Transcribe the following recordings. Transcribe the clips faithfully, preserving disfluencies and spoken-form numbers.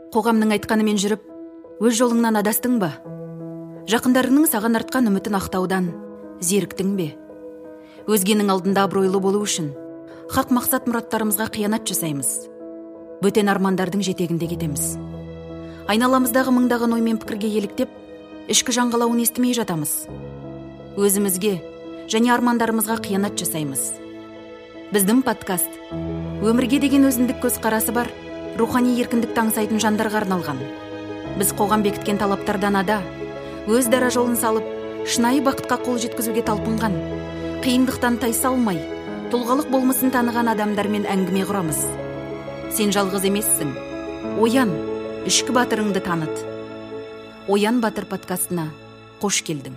Қоғамның айтқанымен жүріп, өз жолыңнан адастың ба? Жақындарыңның саған артқан үмітін ақтаудан зеріктің бе? Өзгенің алдында абыройлы болу үшін хақ мақсат мұраттарымызға қиянат жасаймыз. Бөтен армандардың жетегінде кетеміз. Айналамыздағы мыңдаған оймен пікірге еліктеп, ішкі жаңғалауын естімей жатамыз. Өзімізге және армандарымызға қиянат жасаймыз. Біздің подкаст өмірге деген өзіндік көзқарасы бар, рухани еркіндікті аңсайтын жандарға арналған. Біз қоғам бекіткен талаптардан ада, өз дара жолын салып, шынайы бақытқа қол жеткізуге талпынған, қиындықтан тайсалмай, тұлғалық болмысын таныған адамдармен әңгіме құрамыз. Сен жалғыз емессің. Оян, ішкі батырыңды таныт. Оян Батыр подкастына қош келдің.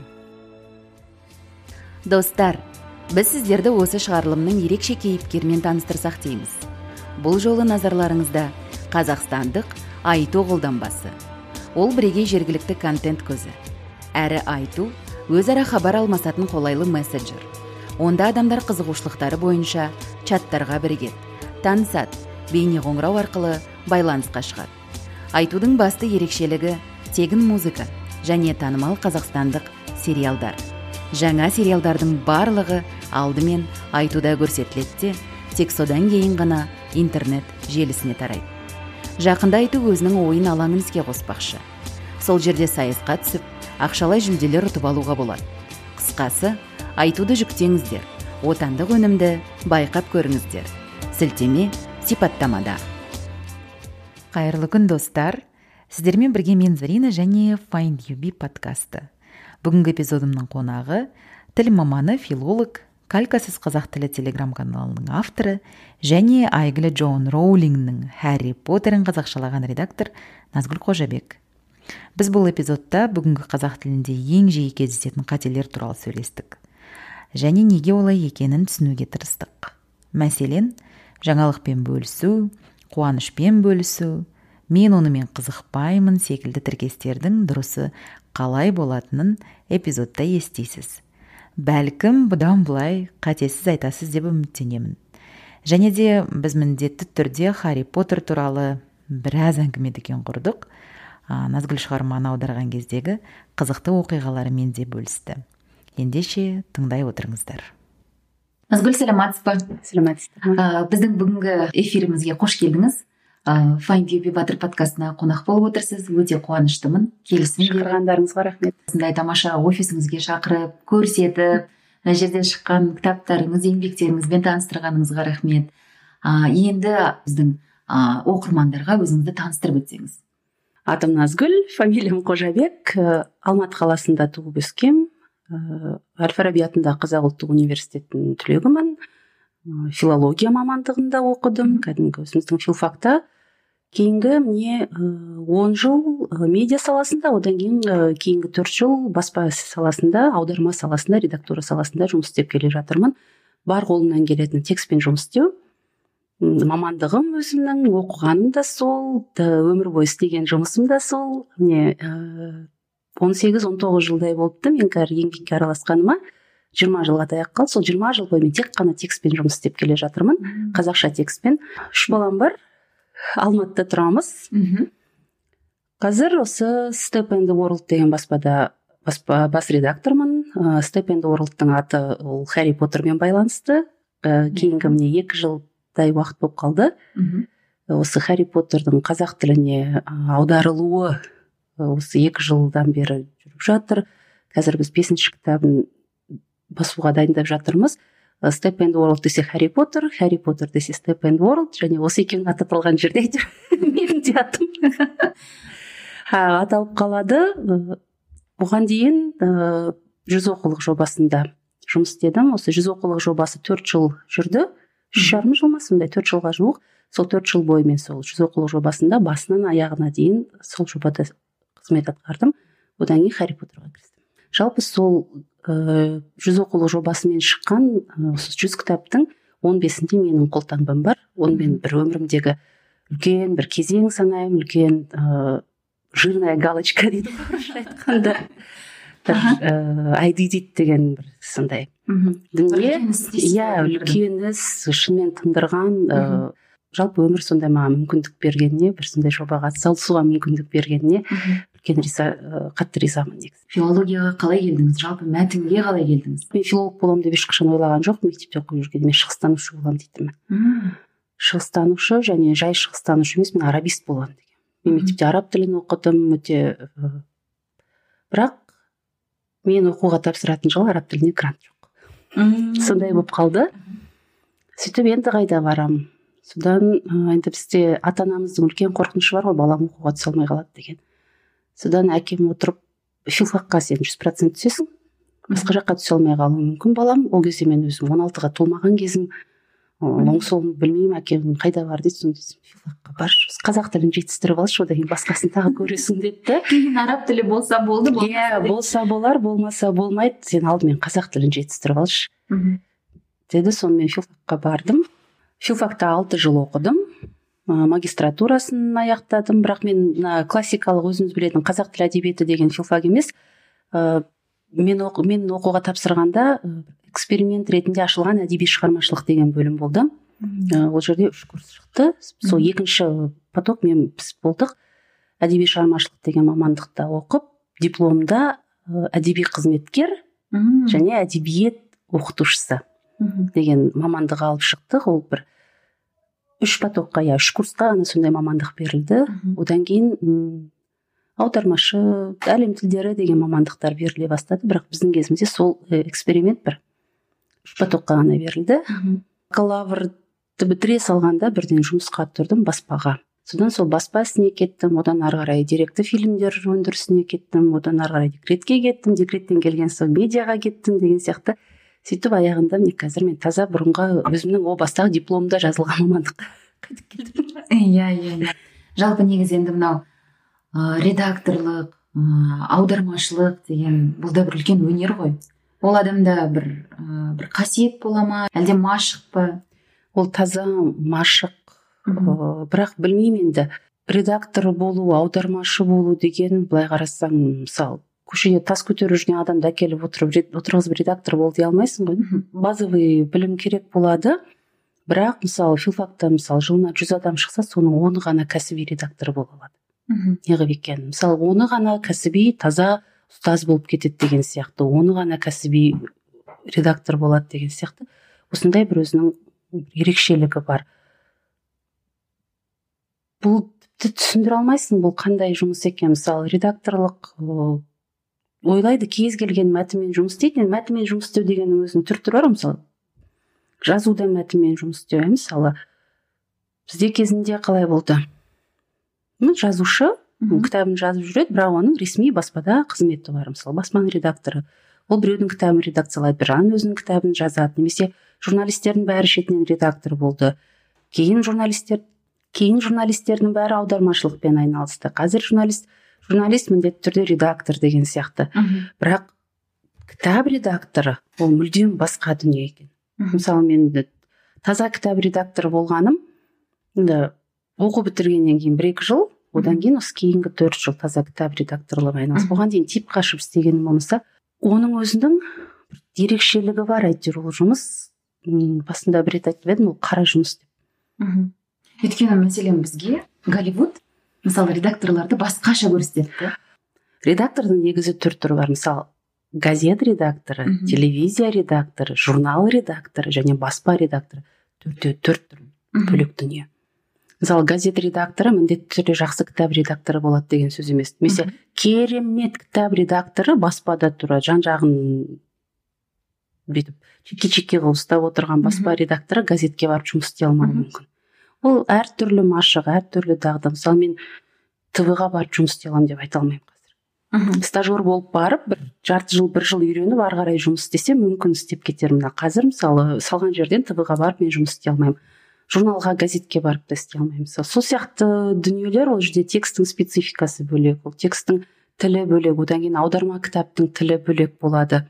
Достар, біз сіздерді осы шығарылымның ерекше кейіпкермен таныстырсақ дейміз. Бұл жолы назарларыңызда қазақстандық Айту қолданбасы. Ол бірегей жергілікті контент көзі. Әрі Айту өзара хабар алмасатын қолайлы мессенджер. Онда адамдар қызығушылықтары бойынша чаттарға бірігеді, танысады, бейне қоңырау арқылы байланысқа шығады. Айтудың басты ерекшелігі тегін музыка және танымал қазақстандық сериалдар. Жаңа сериалдардың барлығы алдымен Айтуда көрсетіледі, тек содан кейін ғана интернет желісіне тарайды. Жақында Айту өзінің ойын алаңын іске қоспақшы. Сол жерде сайысқа түсіп, ақшалай жүлделер ұтып алуға болады. Қысқасы, Айтуды жүктеңіздер, отандық өнімді байқап көріңіздер. Сілтеме сипаттамада. Қайырлы күн, достар. Сіздермен бірге мен Зарина және Find You Be подкасты. Бүгінгі эпизодымның қонағы тіл маманы, филолог, Калькасыз қазақ тілі телеграм-каналының авторы және әйгілі Джоан Роулингнің Хәрри Поттерін қазақшалаған редактор Назгүл Қожабек. Біз бұл эпизодта бүгінгі қазақ тілінде ең жиі кездесетін қателер туралы сөйлестік. Және неге олай екенін түсінуге тырыстық. Мәселен, жаңалықпен бөлісу, қуанышпен бөлісу, мен онымен қызықпаймын секілді тіркестердің дұрысы қалай болатынын эпизодта естисіз. Бәлкім бұдан бұлай қатесіз айтасыз деп үміттенемін. Және де біз міндетті түрде Харри Поттер туралы біраз әңгімеден құрдық. Назгүл шығарманы аударған кездегі қызықты оқиғаларымен де бөлісті. Ендеше тыңдай отырыңыздар. Назгүл, сәлематсыз ба? Сәлематсыз. Біздің бүгінгі эфирімізге қош келдіңіз. Find You Be Батыр подкастына қонақ болып отырсыз. Өте қуаныштымын. Келісім шақырғандарыңызға рахмет. Осындай тамаша офисіңізге шақырып, көрсетіп, мына жерден шыққан кітаптарыңыз, еңбектеріңізбен таныстырғаныңызға рахмет. Енді біздің оқырмандарға өзіңізді таныстырып өтсеңіз. Атым Назгүл, фамилиям Қожабек, Алматы қаласында туып өскем. Әл-Фараби атындағы Қазақ ұлттық университетінің түлегімін. Филология мамандығында оқыдым, кәдімгі өзіміздің филфакта. Кейінгі міне он жыл медиа саласында, одан кейін кейінгі төрт жыл баспа саласында, аударма саласында, редактура саласында жұмыс істеп келе жатырмын. Бар қолымнан келетін текстпен жұмыс істеу. Мамандығым өзімнің, оқығаным да сол, өмір бойы істеген жұмысым да сол. Міне он сегіз он тоғыз жылдай болыпты мен қазір еңбекке араласқаныма. жиырма жылға таяп қалды. Сол жиырма жыл бойы мен тек қана текстпен жұмыс істеп келе жатырмын. Қазақша текстпен. Үш балам бар. Алматыда тұрамыз. Қазір осы Step and the World деген баспада баспа бас редактормын. Step and the World'тың аты ол Харри Поттермен байланысты. Кейінгі міне екі жылдай уақыт болып қалды. Осы Харри Поттердің қазақ тіліне аударылуы осы екі жылдан бері жүріп жатыр. Қазір біз бесінші кітабын басуға дайындап жатырмыз. Step and World десе Харри Поттер, Харри Поттер десе Step and World, және осы екеуін аталған жерде менің де атым аталып қалады. Бұған дейін жүз оқулық жобасында жұмыс істедім. Осы жүз оқулық жобасы төрт жыл жүрді. Үш жарым жыл ма сондай, төрт жылға жуық. Сол төрт жыл бойы мен сол жүз оқулық жобасында басынан аяғына дейін сол жобада қызмет атқардым. Одан кейін Харри Поттерға кірістім. Жалпы сол жүз оқулық жобасымен шыққан осы жүз кітаптың он бесінде менің қолтаңбам бар. Онымен бір өмірімдегі үлкен бір кезең санаймын, үлкен жирная галочка дейді ғой айтқанда. Айди дейді деген бір сондай дүние. Иә, үлкен іс, шынымен тындырған жалпы өмір сондай маған мүмкіндік бергеніне, бір сондай жобаға атсалысуға мүмкіндік бергеніне үлкен риза, қатты ризамын негізі. Филологияға қалай келдіңіз? Жалпы мәтінге қалай келдіңіз? Мен филолог боламын деп ешқашан ойлаған жоқпын. Мектепте оқып жүргенде мен шығыстанушы боламын дейтінмін. Шығыстанушы және жай шығыстанушы емес, мен арабист боламын деген. Мен мектепте араб тілін оқыдым, өте бірақ мен оқуға тапсыратын жылы араб тіліне грант жоқ. Сондай болып қалды. Сөйтіп енді қайда барамын? Содан енді бізде ата-анамыздың үлкен қорқынышы бар ғой, балам оқуға түсе алмай қалады деген. Содан әкем отырып, филфакқа сен жүз процент түсесің, басқа жаққа түсе алмай қалуы мүмкін балам. Ол кезде мен өзім он алтыға толмаған кезім, оң солын білмеймін, әкем қайда бар дейді. Сонда филфакқа бар, қазақ тілін жетістіріп алшы, одан кейін басқасын тағы көресің деді. Кейін араб тілі болса болды, иә, болса болар, болмаса болмайды, сен алдымен қазақ тілін жетістіріп алшы деді. Сонымен филфакқа бардым. Филфакта алты жыл оқыдым, магистратурасын аяқтадым, бірақ мен классикалық өзіңіз білетін қазақ тілі әдебиеті деген филфак емес. Мен, оқу, мен оқуға тапсырғанда эксперимент ретінде ашылған әдеби шығармашылық деген бөлім болды. Ол жерде үш курс шықты. Сол екінші поток мен біз болдық. Әдеби шығармашылық деген мамандықта оқып, дипломда әдеби қызметкер және әдебиет оқытушысы деген мамандық алып шықтық. Ол бір үш потокқа, я үш курсқа ғана сондай мамандық берілді. Одан кейін аудармашы, әлем тілдері деген мамандықтар беріле бастады. Бірақ біздің кезімізде сол эксперимент бір үш потокқа ғана берілді. Бакалаврды бітіре салғанда бірден жұмысқа тұрдым баспаға. Содан сол баспа ісіне кеттім, одан ары қарай деректі фильмдер өндірісіне кеттім, одан ары қарай декретке кеттім, декреттен келген соң медиаға кеттім деген сияқты. Сөйтіп аяғында мен қазір мен таза бұрынғы өзімнің о бастағы дипломда жазылған мамандыққа қайтып келдім. Иә, иә, иә. Жалпы негізі енді мынау редакторлық, аудармашылық деген бұл да бір үлкен өнер ғой. Ол адамда бір бір қасиет бола ма, әлде машық па? Ол таза машық, бірақ білмеймін енді. Редактор болу, аудармашы болу деген, былай қарасаң, мысалы көшеде тас көтеріп жүрген адамды әкеліп отырып отырғызып редактор бол дей алмайсың ғой. Базовый білім керек болады. Бірақ мысалы филфакта мысалы жылына жүз адам шықса, соның оны ғана кәсіби редактор бола алады. Неғып екен? Мысалы оны ғана кәсіби таза ұстаз болып кетеді деген сияқты, оны ғана кәсіби редактор болады деген сияқты. Осындай бір өзінің ерекшелігі бар. Бұл түсіндіре алмайсың, бұл қандай жұмыс екен. Мысалы редакторлық ойлайды, кез келген мәтінмен жұмыс істейді. Мәтінмен жұмыс істеу дегеннің өзінің түр түрі бар. Мысалы жазуда мәтінмен жұмыс істеу, мысалы бізде кезінде қалай болды? Жазушы кітабын жазып жүреді, бірақ оның ресми баспада қызметі бар. Мысалы баспаның редакторы, ол біреудің кітабын редакциялайды, бірінің өзінің кітабын жазады. Немесе журналистердің бәрі шетінен редактор болды. Кейін журналистер кейін журналистердің бәрі аудармашылықпен айналысты. Қазір журналист журналист міндетті түрде редактор деген сияқты. Бірақ кітап редакторы ол мүлдем басқа дүние екен. Мысалы мен таза кітап редакторы болғаным, енді оқу бітіргеннен кейін бір екі жыл, одан кейін осы кейінгі төрт жыл таза кітап редакторлығы айналысып, оған дейін тип қашып істегенім болмаса, оның өзінің ерекшелігі бар. Әйтеуір ол жұмыс, басында бір рет айтып едім, ол қара жұмыс деп. Өйткені мәселен бізге Голливуд мысалы редакторларды басқаша көрсетеді. Редактордың негізі түр түрі бар. Мысалы газет редакторы, телевизия редакторы, журнал редакторы және баспа редакторы. Төртеу төрт түр бөлек дүние. Мысалы газет редакторы міндетті түрде жақсы кітап редакторы болады деген сөз емес. Немесе керемет кітап редакторы баспада тұрады, жан-жағын бүйтіп чеке-чеке қылып ұстап отырған баспа редакторы газетке барып жұмыс істей алмауы мүмкін. Ол әртүрлі машық, әртүрлі дағды. Мысалы мен тэ вэ-ға барып жұмыс істей аламын деп айта алмаймын қазір. Стажер болып барып, бір жарты жыл, бір жыл үйреніп, ары қарай жұмыс істесем, мүмкін істеп кетермін. Қазір мысалы салған жерден тэ вэ-ға барып мен жұмыс істей алмаймын. Журналға, газетке барып та істей алмаймын. Сол сияқты дүниелер, ол жерде текстің спецификасы бөлек, ол текстің тілі бөлек, одан кейін аударма кітаптың тілі бөлек болады.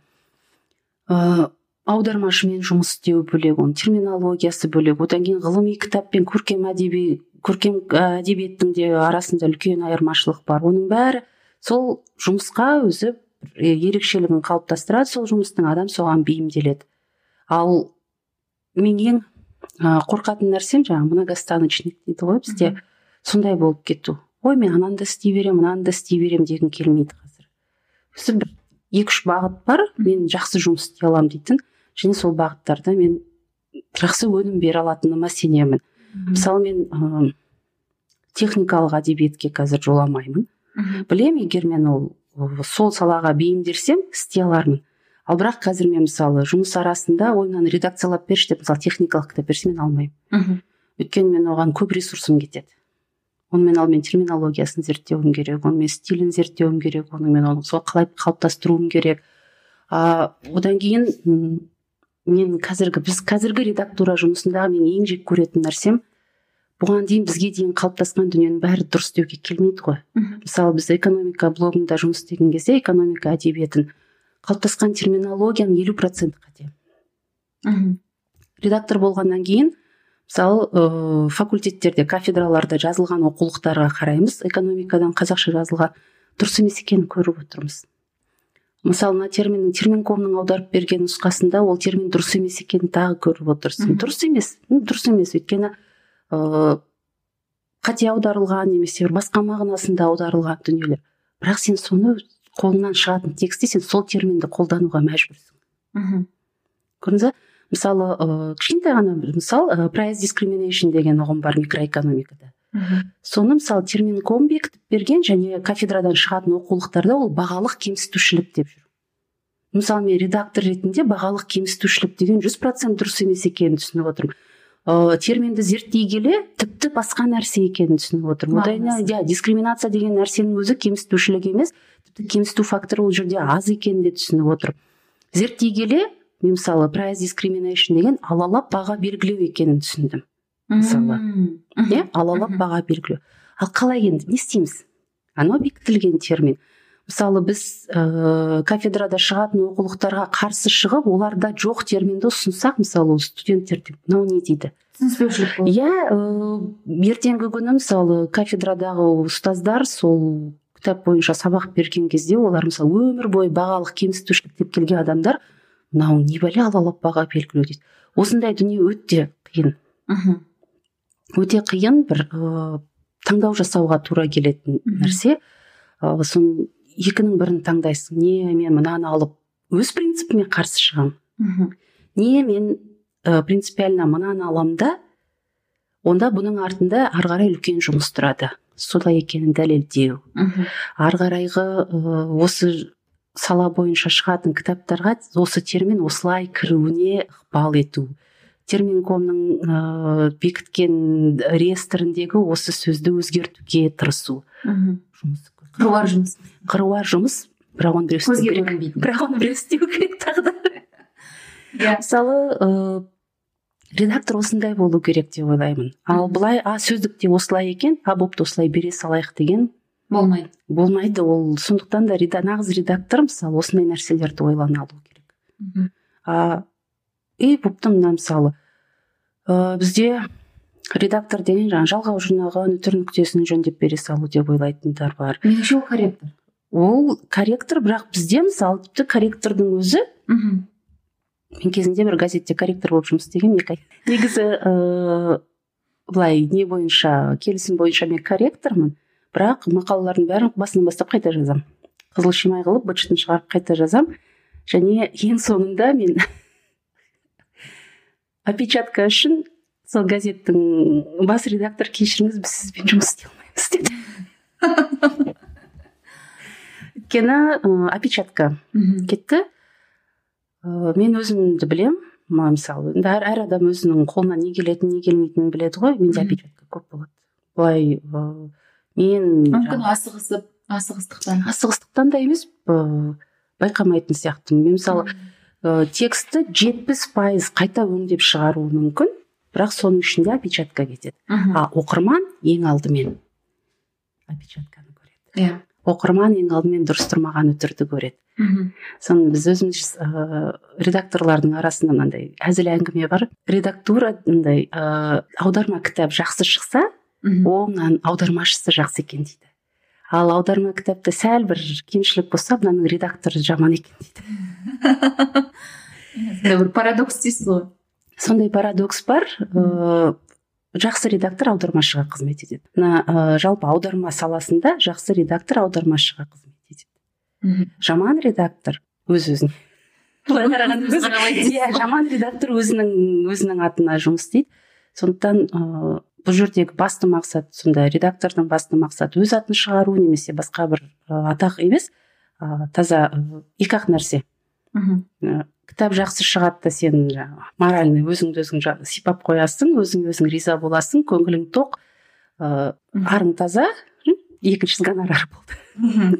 Аудармашымен жұмыс істеу бөлек, оның терминологиясы бөлек, одан кейін ғылыми кітап пен көркем әдеби көркем әдебиеттің де арасында үлкен айырмашылық бар. Оның бәрі сол жұмысқа өзі ерекшелігін қалыптастырады, сол жұмыстың адам соған бейімделеді. Ал мен ең қорқатын нәрсем жаңағы многостаночник дейді ғой бізде, сондай болып кету. Ой, мен ананы да істей беремін, мынаны да істей беремін дегім келмейді қазір. Осы бір екі-үш бағыт бар, мен жақсы жұмыс істей аламын дейтін, және сол бағыттарда мен жақсы өнім бере алатыныма сенемін. Мысалы мен ә, техникалық әдебиетке қазір жоламаймын. Білемін, егер мен ол сол салаға бейімделсем істей алармын. Ал бірақ қазір мен мысалы жұмыс арасында ойымнан редакциялап берші деп мысалы техникалық кітап берсе мен алмаймын. Өйткені мен оған көп ресурсым кетеді. Оны мен алдымен терминологиясын зерттеуім керек, оны мен стилін зерттеуім керек, оны мен оны сол қалай қалыптастыруым керек. А, одан кейін мен қазіргі біз қазіргі редактура жұмысындағы мен ең жек көретін нәрсем, бұған дейін бізге дейін қалыптасқан дүниенің бәрі дұрыс деуге келмейді ғой. Мысалы біз экономика блогында жұмыс істеген кезде экономика әдебиетін қалыптасқан терминологияның елу проценті қате. Редактор болғаннан кейін мысалы ә, факультеттерде, кафедраларда жазылған оқулықтарға қараймыз, экономикадан қазақша жазылған дұрыс емес екенін көріп отырмыз. Мысалы мына терминнің терминкомның аударып берген нұсқасында ол термин дұрыс емес екенін тағы көріп отырсың. Дұрыс емес, дұрыс емес, өйткені ә, қате аударылған немесе бір басқа мағынасында аударылған дүниелер. Бірақ сен соны қолыңнан шығатын текстте сен сол терминді қолдануға мәжбүрсің. Көрдіңіз бе? Мысалы, ә, кішкентай ғана мысал, ә, price discrimination деген ұғым бар микроэкономикада. Соны мысалы терминком бекітіп берген және кафедрадан шығатын оқулықтарда ол бағалық кемсітушілік деп жүр. Мысалы мен редактор ретінде бағалық кемсітушілік деген жүз процент дұрыс емес екенін түсініп отырмын. Ә, терминді зерттей келе тіпті басқа нәрсе екенін түсініп отырмын. Одан кейін дискриминация деген нәрсенің өзі кемсітушілік емес, тіпті кемсіту факторы ол жерде аз екенін де түсініп отырмын. Зерттей келе мен мысалы price discrimination деген алалап баға белгілеу екенін түсіндім. Мысалы, иә, алалап баға белгілеу. Ал қалай енді не істейміз? Анау бекітілген термин. Мысалы біз ә, кафедрада шығатын оқулықтарға қарсы шығып, оларда жоқ терминді ұсынсақ, мысалы студенттерде мынау не дейді? Түсініспеушілік болады. Иә, ә, ертеңгі күні мысалы кафедрадағы ұстаздар сол кітап бойынша сабақ берген кезде олар мысалы өмір бойы бағалық кемсітушілік деп келген адамдар мынау не бәле алалап баға белгілеу дейді. Осындай дүние өте қиын. Өте қиын бір ә, таңдау жасауға тура келетін нәрсе. Ә, сон екінің бірін таңдайсың. Не мен мынаны алып өз принципіме қарсы шығамын. Не мен ә, принципиально мынаны аламын да, онда бұның артында ары қарай үлкен жұмыс тұрады. Солай екенін дәлелдеу. Ары қарайғы ә, осы сала бойынша шығатын кітаптарға осы термин осылай кіруіне ықпал ету. Терминкомның ә, бекіткен реестріндегі осы сөзді өзгертуге тырысу. Жұмыс. Қыруар жұмыс. Қыруар жұмыс, бірақ оны біреу істеу керек. Бірақ оны біреу істеу керек тағы да. Мысалы, ә, редактор осындай болу керек деп ойлаймын. Ал былай, а сөздікте осылай екен, а бопты осылай бере салайық деген болмайды. Болмайды. Ол сондықтан да нағыз редактор мысалы осындай нәрселерді ойлана алу керек. А и бопты мына мысалы ә, бізде редактор деген жаңағы жалғау жинағы нөтер нүктесін жөндеп бере салу деп ойлайтындар бар. Меніңше ол корректор. Ол корректор, бірақ бізде мысалы тіпті корректордың өзі мен кезінде бір газетте корректор болып жұмыс істегенмін екі ай. Негізі ә, былай не бойынша келісім бойынша мен корректормын, бірақ мақалалардың бәрін басынан бастап қайта жазам. Қызыл шимай қылып быт-шытын шығарып қайта жазам. Және ең соңында мен опечатка үшін сол газеттің бас редактор кешіріңіз, біз сізбен жұмыс істей алмаймыз деді. Өйткені опечатка кетті. Мен өзімді білем, мысалы, әр, әр адам өзінің қолына не келетінін, не келмейтінін біледі ғой. Менде опечатка көп болады. Былай мен мүмкін асығысып, асығыстықтан. Асығыстықтан да емес, байқамайтын сияқты. Мен мысалы тексті жетпіс пайыз қайта өңдеп шығару мүмкін, бірақ соның ішінде опечатка кетеді. А оқырман ең алдымен опечатканы көреді. Иә. Оқырман ең алдымен дұрыс тұрмаған өтірді көреді. Соны біз өзіміз ә, редакторлардың арасында мынандай әзіл әңгіме бар. Редактура мындай ә, аударма кітап жақсы шықса, оңнан аудармашысы жақсы екен дейді. Ал аударма кітапта сәл бір кемшілік болса, мынаның редакторы жаман екен дейді. Бір парадокс дейсіз ғой. сондай парадокс бар. Ә, жақсы редактор аудармашыға қызмет етеді. Мына ә, жалпы аударма саласында жақсы редактор аудармашыға қызмет етеді. Мгм. Жаман редактор өз өзіне былай қарағанда Өз өз- қаралайды. иә, жаман редактор өзінің өзінің атына жұмыс істейді. Сондықтан ә, бұл жердегі басты мақсат, сонда редактордың басты мақсаты өз атын шығару немесе басқа бір ә, атақ емес, ә, таза ә, екі ақ нәрсе. Мгм. Ә, кітап жақсы шығады да сен жаңағы моральный өзіңді өзің жа- сипап қоясың, өзің өзің риза боласың, көңілің тоқ, ә, Мгм. арың таза, м, екіншісі гонорар болды. Мгм.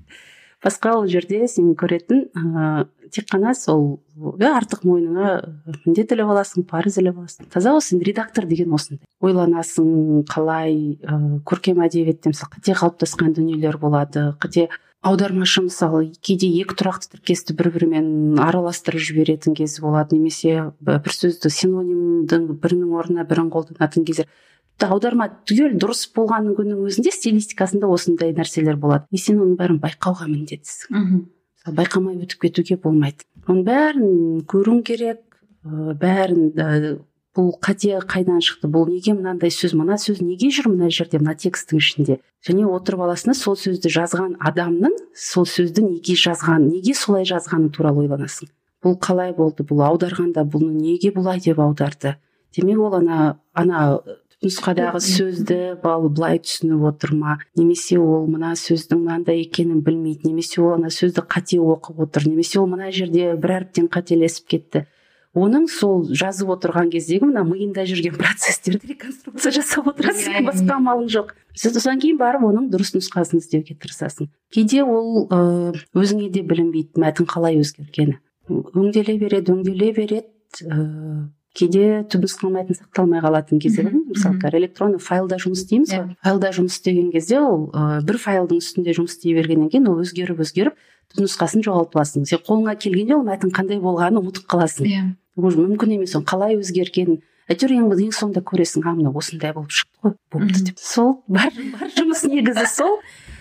Басқа ол жерде сен көретін ә, тек қана сол ә, артық мойныңа міндет іліп аласың, парыз іліп аласың. Таза осы редактор деген осындай. Ойланасың, қалай ә, көркем әдебиетте мысалы қате қалыптасқан дүниелер болады, қате аудармашы мысалы кейде екі тұрақты тіркесті бір бірімен араластырып жіберетін кезі болады, немесе бір сөзді синонимдің бірінің орнына бірін қолданатын кездер. Тіпті аударма түгел дұрыс болғанның күннің өзінде стилистикасында осындай нәрселер болады. И сен оның бәрін байқауға міндеттісің. Мгм. Мысалы, байқамай өтіп кетуге болмайды. Оның бәрін көруің керек, ә, бәрін ә, бұл қате қайдан шықты, бұл неге мынандай сөз, мына сөз неге жүр мына жерде, мына текстің ішінде. Және отырып аласың, сол сөзді жазған адамның сол сөзді неге жазған, неге солай жазғаны туралы ойланасың. Бұл қалай болды, бұл аударғанда бұны неге бұлай деп аударды. Демек ол ана ана нұсқадағы сөзді бал былай түсініп отыр ма, немесе ол мына сөздің мынандай екенін білмейді, немесе ол ана сөзді қате оқып отыр, немесе ол мына жерде бір әріптен қателесіп кетті. Оның сол жазып отырған кездегі мына миында жүрген процестерді реконструкция жасап отырасың, басқа амалың жоқ. Содан кейін барып оның дұрыс нұсқасын іздеуге тырысасың. Кейде ол ә, өзіңе де білінбейді мәтін қалай өзгергені. Өңделе береді, өңделе береді, ә, кейде түпнұсқа мәтін сақталмай қалатын кезде бар. Мысалы, электронды файлда жұмыс істейміз ғой. Файлда жұмыс істеген кезде ол ә, бір файлдың үстінде жұмыс істей бергеннен кейін ол өзгеріп өзгеріп түпнұсқасын жоғалтып аласың. Сен қолыңа келгенде ол мәтін қандай болғанын ұмытып қаласың. Иә. Ол мүмкін емес, оны қалай өзгергенін. Әйтеуір ең ең соңында көресің, а мына осындай болып шықты ғой, болды деп. Сол бар бар жұмыс негізі сол.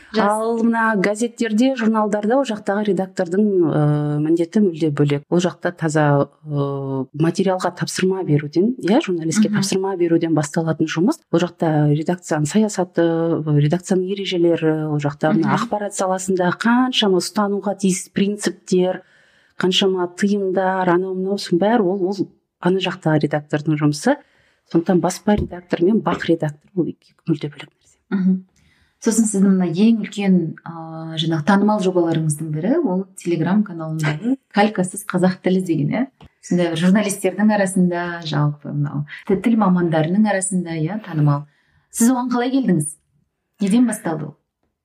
Ал мына газеттерде, журналдарда ол жақтағы редактордың ә, міндеті мүлде бөлек. Ол жақта таза ә, материалға тапсырма беруден, иә, журналистке тапсырма беруден басталатын жұмыс. Ол жақта редакцияның саясаты, редакцияның ережелері, ол жақта мына ақпарат саласында қаншама ұстануға тиіс принциптер, қаншама тыйымдар, анау мынау бәрі ол ол ана жақтағы редактордың жұмысы. Сондықтан баспа редактор мен бақ редактор ол екі мүлде бөлек нәрсе. Мгм. Сосын сіздің мына ең үлкен ә, жаңағы танымал жобаларыңыздың бірі ол телеграм каналындағы калькасыз қазақ тілі деген, иә. Сондай бір журналистердің арасында, жалпы мынау тіл мамандарының арасында, иә, танымал. Сіз оған қалай келдіңіз? Неден басталды ол?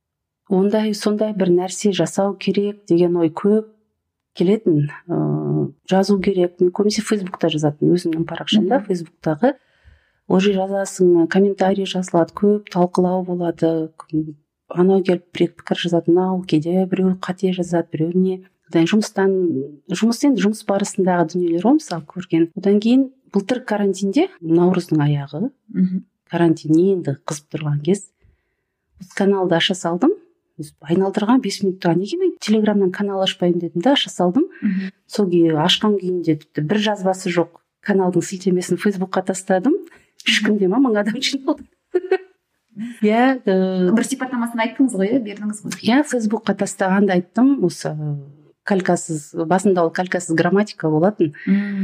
Ондай сондай бір нәрсе жасау керек деген ой көп келетін. Ә, жазу керек. Мен көбінесе Фейсбукта жазатын, өзімнің парақшамда, Фейсбуктағы. Ол жерде жазасың, комментарий жазылады, көп талқылау болады. Анау келіп бір пікір жазады, мынау кейде біреу қате жазады, біреу не. Одан жұмыстан жұмыс енді жұмыс барысындағы дүниелер ғой, мысалы көрген. Одан кейін былтыр карантинде, наурыздың аяғы, карантин енді қызып тұрған кез, каналды аша салдым. Айналдырған бес минутта неге мен телеграмнан канал ашпаймын дедім да аша салдым. Сол күйі ашқан күйінде бір жазбасы жоқ каналдың сілтемесін Фейсбукқа тастадым. Үш күнде ма мың адам жиналды. Иә, бір сипаттамасын айттыңыз ғой, бердіңіз ғой. Иә, Фейсбукқа тастағанды айттым. Осы калькасыз, басында ол калькасыз грамматика болатын.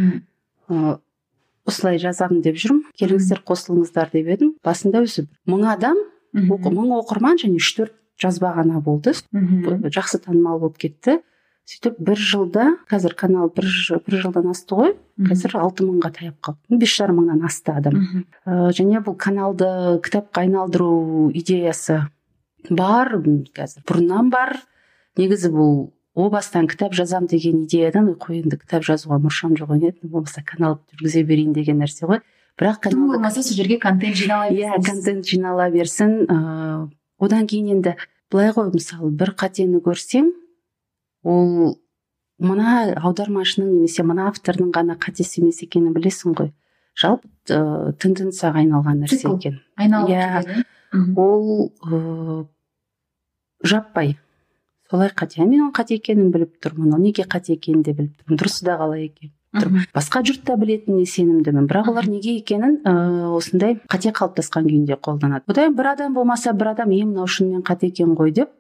Осылай жазамын деп жүрмін. Келіңіздер, қосылыңыздар деп едім. Басында өзі мың адам, мың оқырман және үш төрт жазба ғана болды. Жақсы танымал болып кетті. Сөйтіп бір жылда, қазір канал бір, бір жылдан асты ғой, қазір алты мыңға таяп қалды. Бес жарым мыңнан асты адам. Ә, және бұл каналды кітапқа айналдыру идеясы бар, қазір бұрыннан бар. Негізі бұл о бастан кітап жазам деген идеядан, қой енді кітап жазуға мұршам жоқ еді, болмаса канал жүргізе берейін деген нәрсе ғой. Бірақ канал болмаса сол жерге контент жинала берсін. Иә, контент жинала берсін. Ә, одан кейін енді былай ғой, мысалы бір қатені көрсең, ол мына аудармашының немесе мына автордың ғана қатесі емес екенін білесің ғой. Жалпы ә, тенденцияға айналған нәрсе екен. Айналып кетеді. Ол ә, жаппай солай қате. Мен оның қате екенін біліп тұрмын. Ол неге қате екенін де біліп тұрмын. Дұрысы да қалай екен. тұрып басқа жұрт та білетініне сенімдімін, бірақ олар неге екенін ә, осындай қате қалыптасқан күйінде қолданады. Одан бір адам болмаса бір адам е мынау шынымен қате екен ғой деп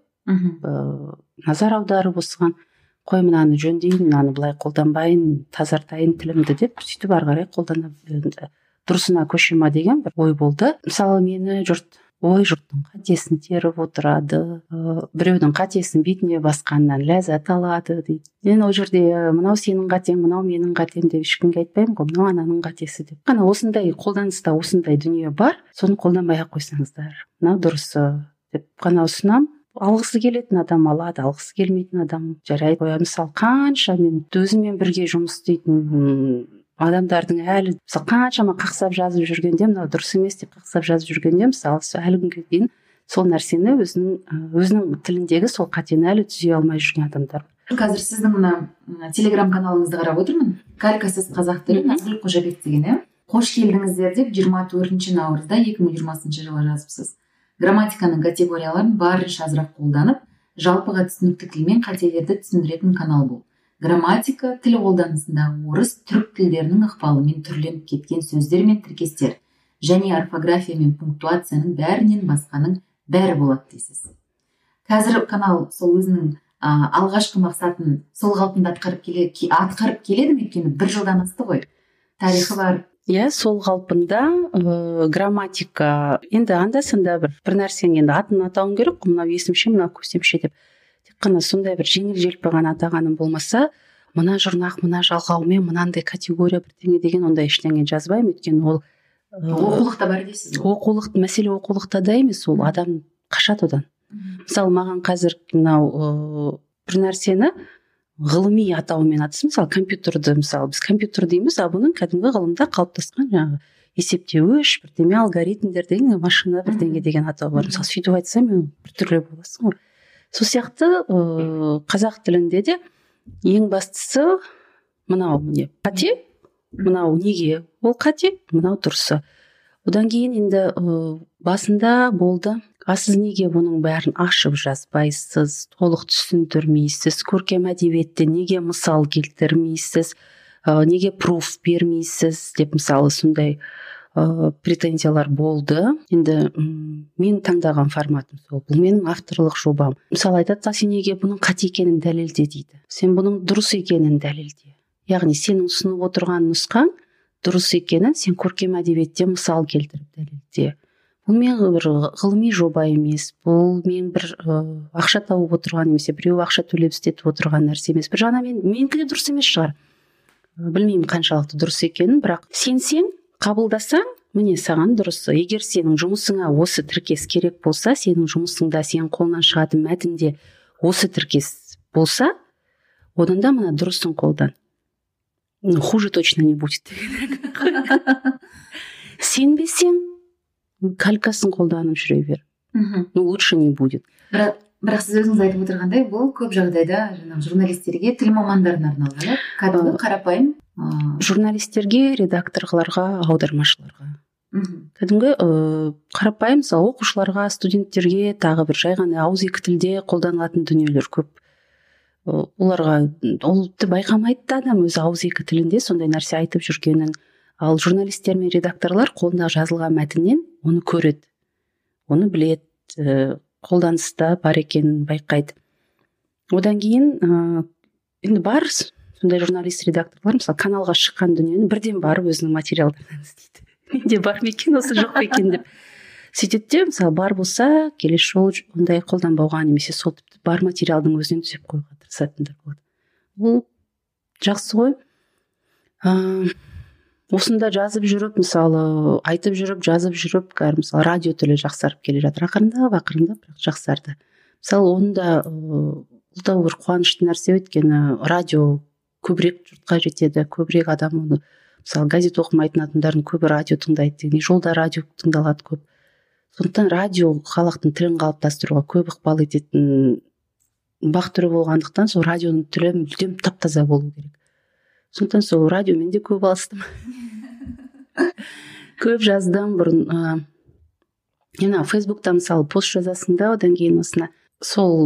ә, назар аударып осыған қой мынаны жөндейін, мынаны былай қолданбайын, тазартайын тілімді деп сөйтіп ары қарай қолдана дұрысына көше ма деген бір ой болды. Мысалы мені жұрт ой жұрттың қатесін теріп отырады, ә, біреудің қатесін бетіне басқаннан ләззат алады дейді. Мен ол жерде мынау сенің қатең, мынау менің қатем деп ешкімге айтпаймын ғой, мынау ананың қатесі деп. Қана осындай қолданыста осындай дүние бар, соны қолданбай ақ қойсаңыздар, мынау дұрысы деп қана ұсынамын. Алғысы келетін адам алады, алғысы келмейтін адам жарайды қояды. Мысалы қанша мен өзіммен бірге жұмыс істейтін адамдардың әлі мысалы қаншама қақсап жазып жүргенде, мынау дұрыс емес деп қақсап жазып жүргенде, мысалы әлі күнге дейін сол нәрсені өзінің өзінің тіліндегі сол қатені әлі түзей алмай жүрген адамдар. Қазір сіздің мына телеграм каналыңызды қарап отырмын. Калькасыз қазақ тілі Назгүл Қожабек деген, иә? Қош келдіңіздер деп жиырма төртінші наурызда екі мың жиырмасыншы жылы жазыпсыз. Грамматиканың категорияларын барынша азырақ қолданып, жалпыға түсінікті тілмен қателерді түсіндіретін канал бұл. Грамматика тіл қолданысындағы орыс, түрік тілдерінің ықпалымен түрленіп кеткен сөздер мен тіркестер және орфография мен пунктуацияның бәрінен басқаның бәрі болады дейсіз. Қазір канал сол өзінің ә, алғашқы мақсатын сол қалпында атқарып келе, атқарып келеді ме? Өйткені бір жылдан асты ғой. Тарихы бар. Иә, сол қалпында ә, грамматика енді анда-санда бір бір нәрсенің енді атын атауым керек, мынау есімше, мынау көсемше деп. Тек қана сондай бір жеңіл-желпі ғана атағаным болмаса, мына жұрнақ, мына жалғаумен мынандай категория бірдеңе деген ондай ештеңе жазбаймын. Өйткені ол ә, оқулықта бар дейсіз. Оқулық, мәселе оқулықта да емес, ол адам қашады одан. Мысалы, маған қазір мынау ә, бір нәрсені ғылыми атауымен атысы, мысалы компьютерді, мысалы біз компьютер дейміз, а бұның кәдімгі ғылымда қалыптасқан жаңағы есептеуіш бірдеме алгоритмдер деген машина бірдеңе деген атау бар. Мысалы сөйтіп айтсам біртүрлі боласың ғой. Сол сияқты ә, қазақ тілінде де ең бастысы мынау міне қате, мынау неге ол қате, мынау дұрысы. Одан кейін енді ә, басында болды, а сіз неге бұның бәрін ашып жазбайсыз, толық түсіндірмейсіз, көркем әдебиетте неге мысал келтірмейсіз, ә, неге пруф бермейсіз деп мысалы сондай ә, претензиялар болды. Енді м, мен таңдаған форматым сол, бұл менің авторлық жобам. Мысалы айтады, сен неге бұның қате екенін дәлелде дейді, сен бұның дұрыс екенін дәлелде. Яғни сенің ұсынып отырған нұсқаң дұрыс екенін сен көркем әдебиетте мысал келтіріп дәлелде. Бұл мен бір ғылыми жоба емес, бұл мен бір ә, ақша тауып отырған немесе біреу ақша төлеп істетіп отырған нәрсе емес. Бір жағынан мен менікі де дұрыс емес шығар. Білмеймін қаншалықты дұрыс екенін, бірақ сенсең, қабылдасаң, міне саған дұрысы. Егер сенің жұмысыңа осы тіркес керек болса, сенің жұмысыңда сенің қолынан шығатын мәтінде осы тіркес болса, одан да мына дұрысын қолдан. Хуже точно не будет. Сенбесең, калькасын қолданып жүре бер. Ну, лучше не будет. Бірақ, бірақ сіз өзіңіз айтып отырғандай, бұл көп жағдайда жаңағы журналистерге, тіл мамандарына арналған, кәдімгі қарапайым журналистерге, редакторларға, аудармашыларға. Кәдімгі қарапайым, мысалы оқушыларға, студенттерге, тағы бір жай ғана ауызекі тілде қолданылатын дүниелер көп. Оларға ол байқамайды да адам өзі ауызекі тілінде сондай нәрсе айтып жүргенін. Ал журналистер мен редакторлар қолына жазылған мәтіннен оны көреді, оны біледі, ә, қолданыста бар екенін байқайды. Одан кейін ә, енді бар сондай журналист редакторлар мысалы каналға шыққан дүниені бірден барып өзінің материалдарынан іздейді. Менде бар ма екен, осы жоқ па екен деп. Сөйтеді де, мысалы бар болса келесі жолы ондай қолданбауға немесе сол тіпті бар материалдың өзінен түзеп қоюға тырысатындар болады. Бұл жақсы ғой. Ә, осында жазып жүріп, мысалы айтып жүріп, жазып жүріп, кәдімгі мысалы радио тілі жақсарып келе жатыр. Ақырындап, ақырындап бірақ жақсарды. Мысалы оны да бұл да бір қуанышты нәрсе, өйткені радио көбірек жұртқа жетеді, көбірек адам оны, мысалы газет оқымайтын адамдардың көбі радио тыңдайды деген, жолда радио тыңдалады көп. Сондықтан радио халықтың тілін қалыптастыруға көп ықпал ететін бақ түрі болғандықтан сол радионың тілі мүлдем тап-таза болу керек. Сондықтан сол радиомен де көп алыстым. Көп жаздым бұрын. Ә, фейсбукта мысалы пост жазасың да, одан кейін осына сол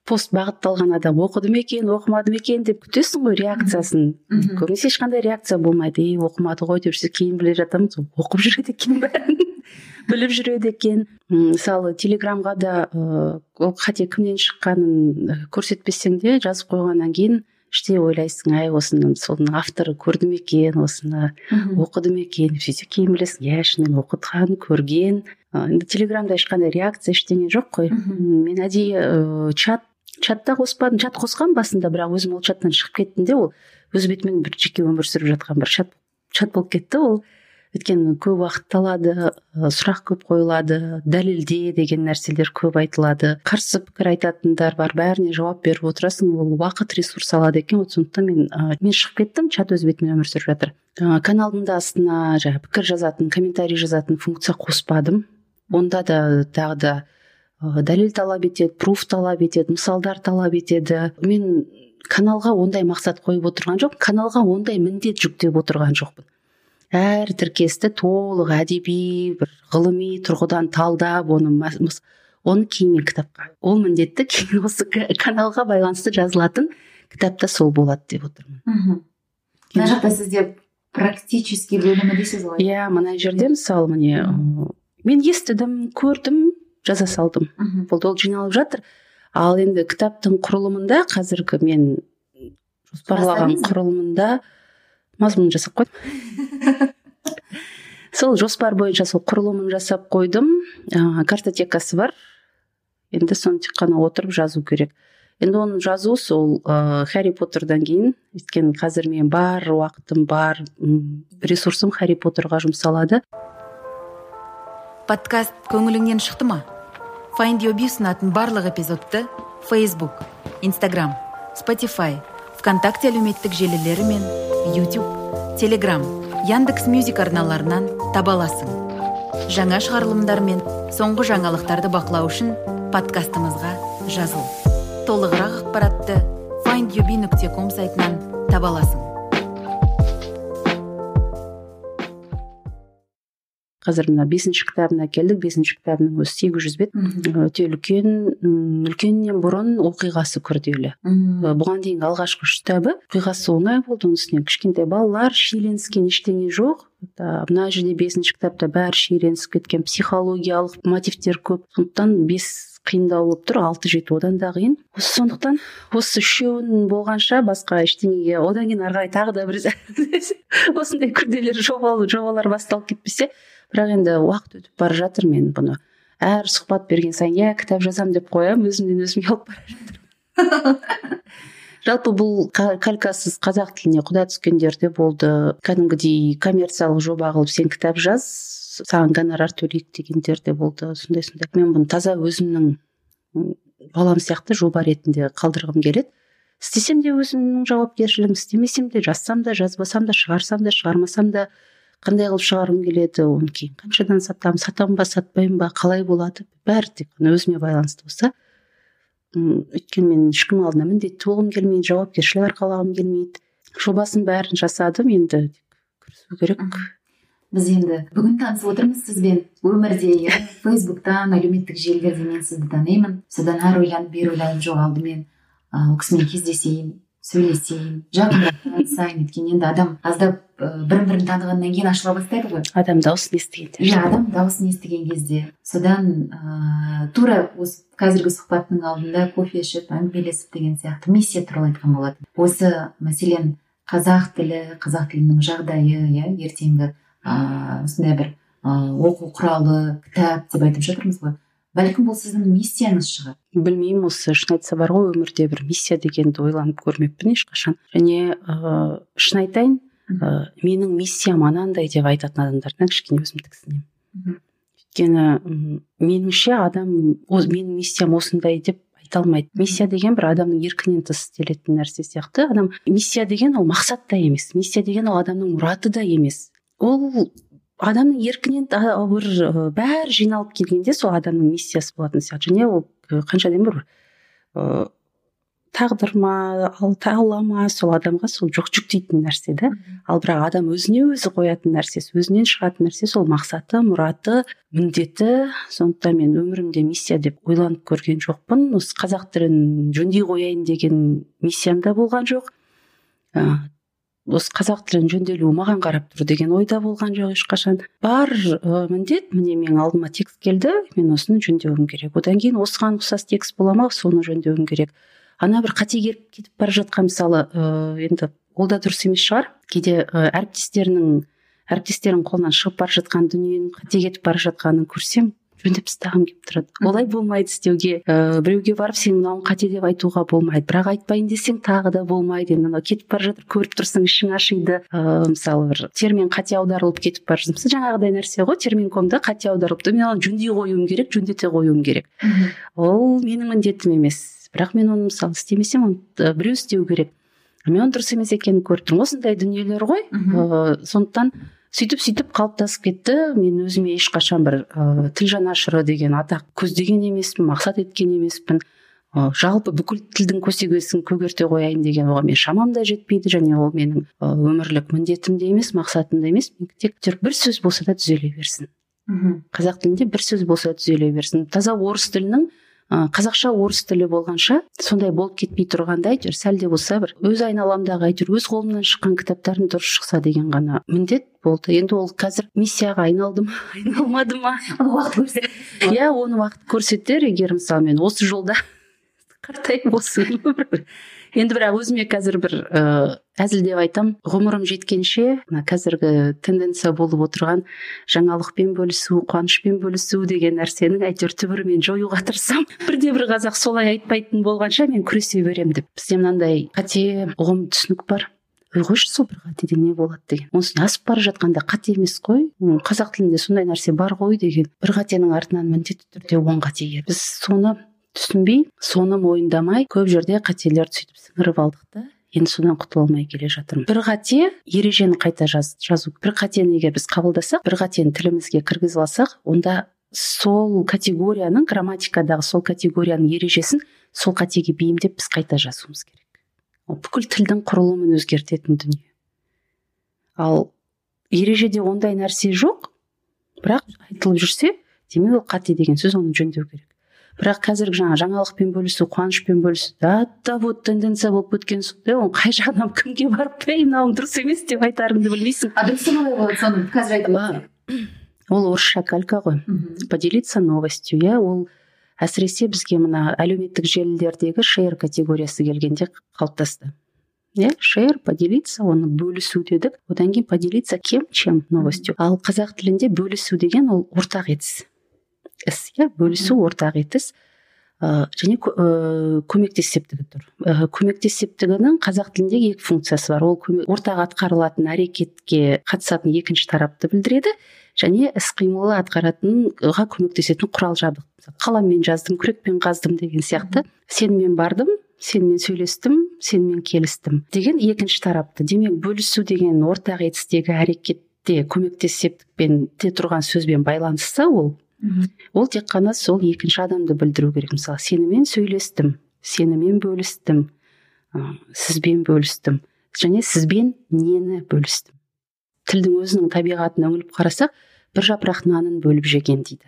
пост бағытталған адам оқыды ма екен оқымады ма екен деп күтесің ғой реакциясын. Көбінесе ешқандай реакция болмайды. Ей, оқымады ғой деп жүрсе кейін біле жатамыз, оқып жүреді екен бәрін біліп жүреді екен. Мысалы телеграмға да ол қате кімнен шыққанын көрсетпесең де жазып қойғаннан кейін іште ойлайсың, ай осының соның авторы көрді ме екен, осыны оқыды ма екен деп, сөйтсе кейін білесің, иә шынымен оқыған, көрген. Енді телеграмда ешқандай реакция ештеңе жоқ қой. Мен әдейі чат чатта қоспадым, чат қосқан басында, бірақ өзім ол чаттан шығып кеттім де, ол өз бетімен бір жеке өмір сүріп жатқан бір чат чат болып кетті. Ол өйткені көп уақыт алады, сұрақ көп қойылады, дәлелде деген нәрселер көп айтылады, қарсы пікір айтатындар бар, бәріне жауап беріп отырасың, ол уақыт ресурс алады екен. Сондықтан мен мен шығып кеттім, чат өз бетімен өмір сүріп жатыр. Каналдың да астына жаңағы пікір жазатын, комментарий жазатын функция қоспадым. Онда да тағы да дәлел талап етеді, пруф талап етеді, мысалдар талап етеді. Мен каналға ондай мақсат қойып отырған жоқ, каналға ондай міндет жүктеп отырған жоқпын. Әр тіркесті толық әдеби, бір ғылыми тұрғыдан талдап, оны оны кейін кітапқа. Ол міндетті кейін осы каналға байланысты жазылатын кітапта сол болады деп отырмын. Мына жақта сізде практический бөлімі дейсіз ғой. Иә, мына жерде мысалы міне мен естідім, көрдім, жаза салдым. Бұл ол жиналып жатыр. Ал енді кітаптың құрылымында қазіргі мен жоспарлаған құрылымында мазмұнын жасап қойдым. Сол жоспар бойынша сол құрылымын жасап қойдым. Картотекасы бар. Енді соны тек қана отырып жазу керек. Енді оны жазу сол Харри Поттердан кейін, өйткені қазір мен бар уақытым бар, ресурсым Харри Поттерға жұмсалады. Подкаст көңіліңнен шықты ма? Find Your Bee ұсынатын барлық эпизодты Facebook, Instagram, Spotify, ВКонтакте әлеуметтік желілері мен YouTube, Telegram, Яндекс.Мюзик арналарынан таба аласың. Жаңа шығарылымдар мен соңғы жаңалықтарды бақылау үшін подкастымызға жазыл. Толығырақ ақпаратты файнд ю би нүкте ком сайтынан таба аласың. Қазір мына бесінші кітабына келдік. Бесінші кітабының өзі сегіз жүз бет. Өте үлкен, үлкеннен бұрын оқиғасы күрделі. Бұған дейінгі алғашқы үш кітабы оқиғасы оңай болды. Оның үстіне кішкентай балалар, шиеленіскен ештеңе жоқ. Мына жерде бесінші кітапта бәрі шиеленісіп кеткен, психологиялық мотивтер көп. Сондықтан бес қиындау болып тұр, алты жеті одан да қиын. Сондықтан осы үшеуін болғанша басқа ештеңеге одан кейін ары қарай тағы да бір осындай күрделі жобалар басталып кетпесе. Бірақ енді уақыт өтіп бара жатыр, мен бұны әр сұхбат берген сайын я кітап жазам деп қоямын, өзімнен өзім ұялып бара жатырмын. Жалпы бұл калькасыз қазақ тіліне құда түскендерде болды. Кәдімгідей коммерциялық жоба қылып сен кітап жаз, саған гонорар төлейік дегендер де болды. Сондай сондай. Мен бұны таза өзімнің балам сияқты жоба ретінде қалдырғым келеді. Істесем де өзімнің жауапкершілігім, істемесем де, жазсам да, жазбасам да, шығарсам да, шығармасам да қандай қылып шығарғым келеді, оны кейін қаншадан сатамын, сатамын ба, сатпаймын ба, қалай болады, бәрі тек өзіме байланысты болса. Өйткені мен ешкім алдына міндетті болғым келмейді, жауапкершілік арқалағым келмейді. Жобасын бәрін жасадым, енді кірісу керек. Біз енді бүгін танысып отырмыз сізбен өмірде, Фейсбуктан, әлеуметтік желілерде мен сізді танимын. Содан ары ойланып, бері ойланып жоқ алдымен ол кісімен кездесейін, сөйлесейін, жақындаған сайын, өйткені енді адам аздап бірін-бірін танығаннан кейін ашыла бастайды ғой. Адам дауысын естігенде. Иә, адам дауысын естіген кезде. Содан ә, тура осы қазіргі сұхбаттың алдында кофе ішіп, әңгімелесіп деген сияқты миссия туралы айтқан болатын. Осы мәселен қазақ тілі, қазақ тілінің жағдайы, иә, ертеңгі ә, осындай бір ә, оқу құралы, кітап деп айтып жатырмыз ғой. Бәлкім бұл сіздің миссияңыз шығар. Білмеймін, осы шын айтса бар ғой, өмірде бір миссия дегенді ойланып көрмеппін ешқашан. Және ә, шын айтайын, ә, менің миссиям анандай деп айтатын адамдардан кішкене өзім тіксінемін. Өйткені меніңше адам менің миссиям осындай деп айта алмайды. Миссия деген бір адамның еркінен тыс істелетін нәрсе сияқты. Адам миссия деген ол мақсат та емес. Миссия деген ол адамның мұраты да емес. Ол адамның еркінен бір бәрі жиналып келгенде сол адамның миссиясы болатын сияқты. Және ол қанша дейін бір тағдыр ма, алла ма, сол адамға сол жоқ жүктейтін нәрсе да. Ал бірақ адам өзіне өзі қоятын нәрсесі, өзінен шығатын нәрсе сол мақсаты, мұраты, міндеті. Сондықтан мен өмірімде миссия деп ойланып көрген жоқпын. Осы қазақ тілін жөндей қояйын деген миссиям да болған жоқ. Осы қазақ тілін жөнделуі маған қарап тұр деген ойда болған жоқ ешқашан. Бар ә, міндет, міне менің алдыма текст келді, мен осыны жөндеуім керек. Одан кейін осыған ұқсас текст бола ма, соны жөндеуім керек. Ана бір қате келіп кетіп бара жатқан, мысалы, ә, енді ол да дұрыс емес шығар. Кейде ә, әріптестерінің әріптестерінің қолынан шығып бара жатқан дүниенің қате кетіп бара жатқанын көрсем, жөндеп тастағым келіп тұрады. Олай болмайды істеуге. Ә, біреуге барып сен мынауың қате деп айтуға болмайды, бірақ айтпайын десең тағы да болмайды. Енді мынау кетіп бара жатыр, көріп тұрсың, ішің ашиды. Ә, мысалы бір термин қате аударылып кетіп бара жатыр. Мысалы жаңағыдай нәрсе ғой, терминкомда қате аударылыпты, мен оны жөндей қоюым керек, жөндете қоюым керек. Ол менің міндетім емес. Бірақ мен оны мысалы істемесем, оны біреу істеу керек. Мен оны дұрыс емес екенін көріп тұрмын. Осындай дүниелер ғой. Ә, сондықтан сөйтіп сөйтіп қалыптасып кетті. Мен өзіме ешқашан бір ә, тіл жанашыры деген атақ көздеген емеспін, мақсат еткен емеспін. Ә, жалпы бүкіл тілдің көсегесін көгерте қояйын деген оған мен шамам да жетпейді, және ол менің ә, өмірлік міндетім де емес, мақсатым да емес. Мен тек бір сөз болса да түзеле берсін. Қазақ тілінде бір сөз болса да түзеле берсін. Таза орыс тілінің қазақша орыс тілі болғанша сондай болып кетпей тұрғанда, әйтеуір сәл де болса бір өз айналамдағы, әйтеуір өз қолымнан шыққан кітаптардың дұрыс шықса деген ғана міндет болды. Енді ол қазір миссияға айналды ма, айналмады ма, уақыт көрсетер. Иә, оны уақыт көрсетер. Егер мысалы мен осы жолда қартайып осы енді бірақ өзіме қазір бір ә, әзілдеп айтам, ғұмырым жеткенше мына қазіргі тенденция болып отырған жаңалықпен бөлісу, қуанышпен бөлісу деген нәрсенің әйтеуір түбірімен жоюға тырысамын. Бірде бір қазақ солай айтпайтын болғанша мен күресе берем деп. Бізде мынандай қате ұғым түсінік бар. Ой, қойшы, сол бір қатеде не болады деген. Онсын асып бара жатқанда қате емес қой. Қазақ тілінде сондай нәрсе бар ғой деген. Bir қатенің артынан міндетті түрде он қате келеді. Біз соны түсінбей, соны мойындамай, көп жерде қателерді сөйтіп сіңіріп алдық та, енді содан құтыла алмай келе жатырмын. Bir қате ережені қайта жаз, жазу. Bir қатені егер біз қабылдасақ, bir қатені тілімізге кіргізіп алсақ, онда сол категорияның, грамматикадағы сол категорияның ережесін сол қатеге бейімдеп біз қайта жазуымыз керек. Ол бүкіл тілдің құрылымын өзгертетін дүние. Ал ережеде ондай нәрсе жоқ, бірақ айтылып жүрсе, демек ол қате деген сөз, оны жөндеу керек. Бірақ қазіргі жаңа жаңалықпен бөлісу, қуанышпен бөлісу, да да вот тенденция болып кеткен соң, оны қай жағынан кімге барып, ей, мынауың дұрыс емес деп айтарыңды білмейсің. А дұрысы қалай болады, соны қазір айтып өтсең. Ол орысша калька ғой. Поделиться новостью, иә, ол әсіресе бізге мына әлеуметтік желілердегі шер категориясы келгенде қалыптасты. Иә, шер, поделиться, оны бөлісу дедік. Одан кейін поделиться кем, чем новостью. Ал қазақ тілінде бөлісу деген ол ортақ етіс. Іс, иә, бөлісу ортақ етіс. Ә, және ә, көмектес септігі тұр. Ә, көмектес септігінің қазақ тілінде екі функциясы бар. Ол көмек, ортақ атқарылатын әрекетке қатысатын екінші тарапты білдіреді, және іс-қимылы атқаратынға көмектесетін құрал жабдық. Қаламмен жаздым, күрекпен қаздым деген сияқты. Сенімен бардым, сенімен сөйлестім, сенімен келістім деген екінші тарапты. Демек, бөлісу деген ортақ етістегі әрекетте көмектес септікпен те тұрған сөзбен байланысса, ол ол тек қана сол екінші адамды білдіру керек. Мысалы, сенімен сөйлестім, сенімен бөлістім, сізбен бөлістім, және сізбен нені бөлістім. Тілдің өзінің табиғатына үңіліп қарасақ, бір жапырақ нанын бөліп жеген дейді.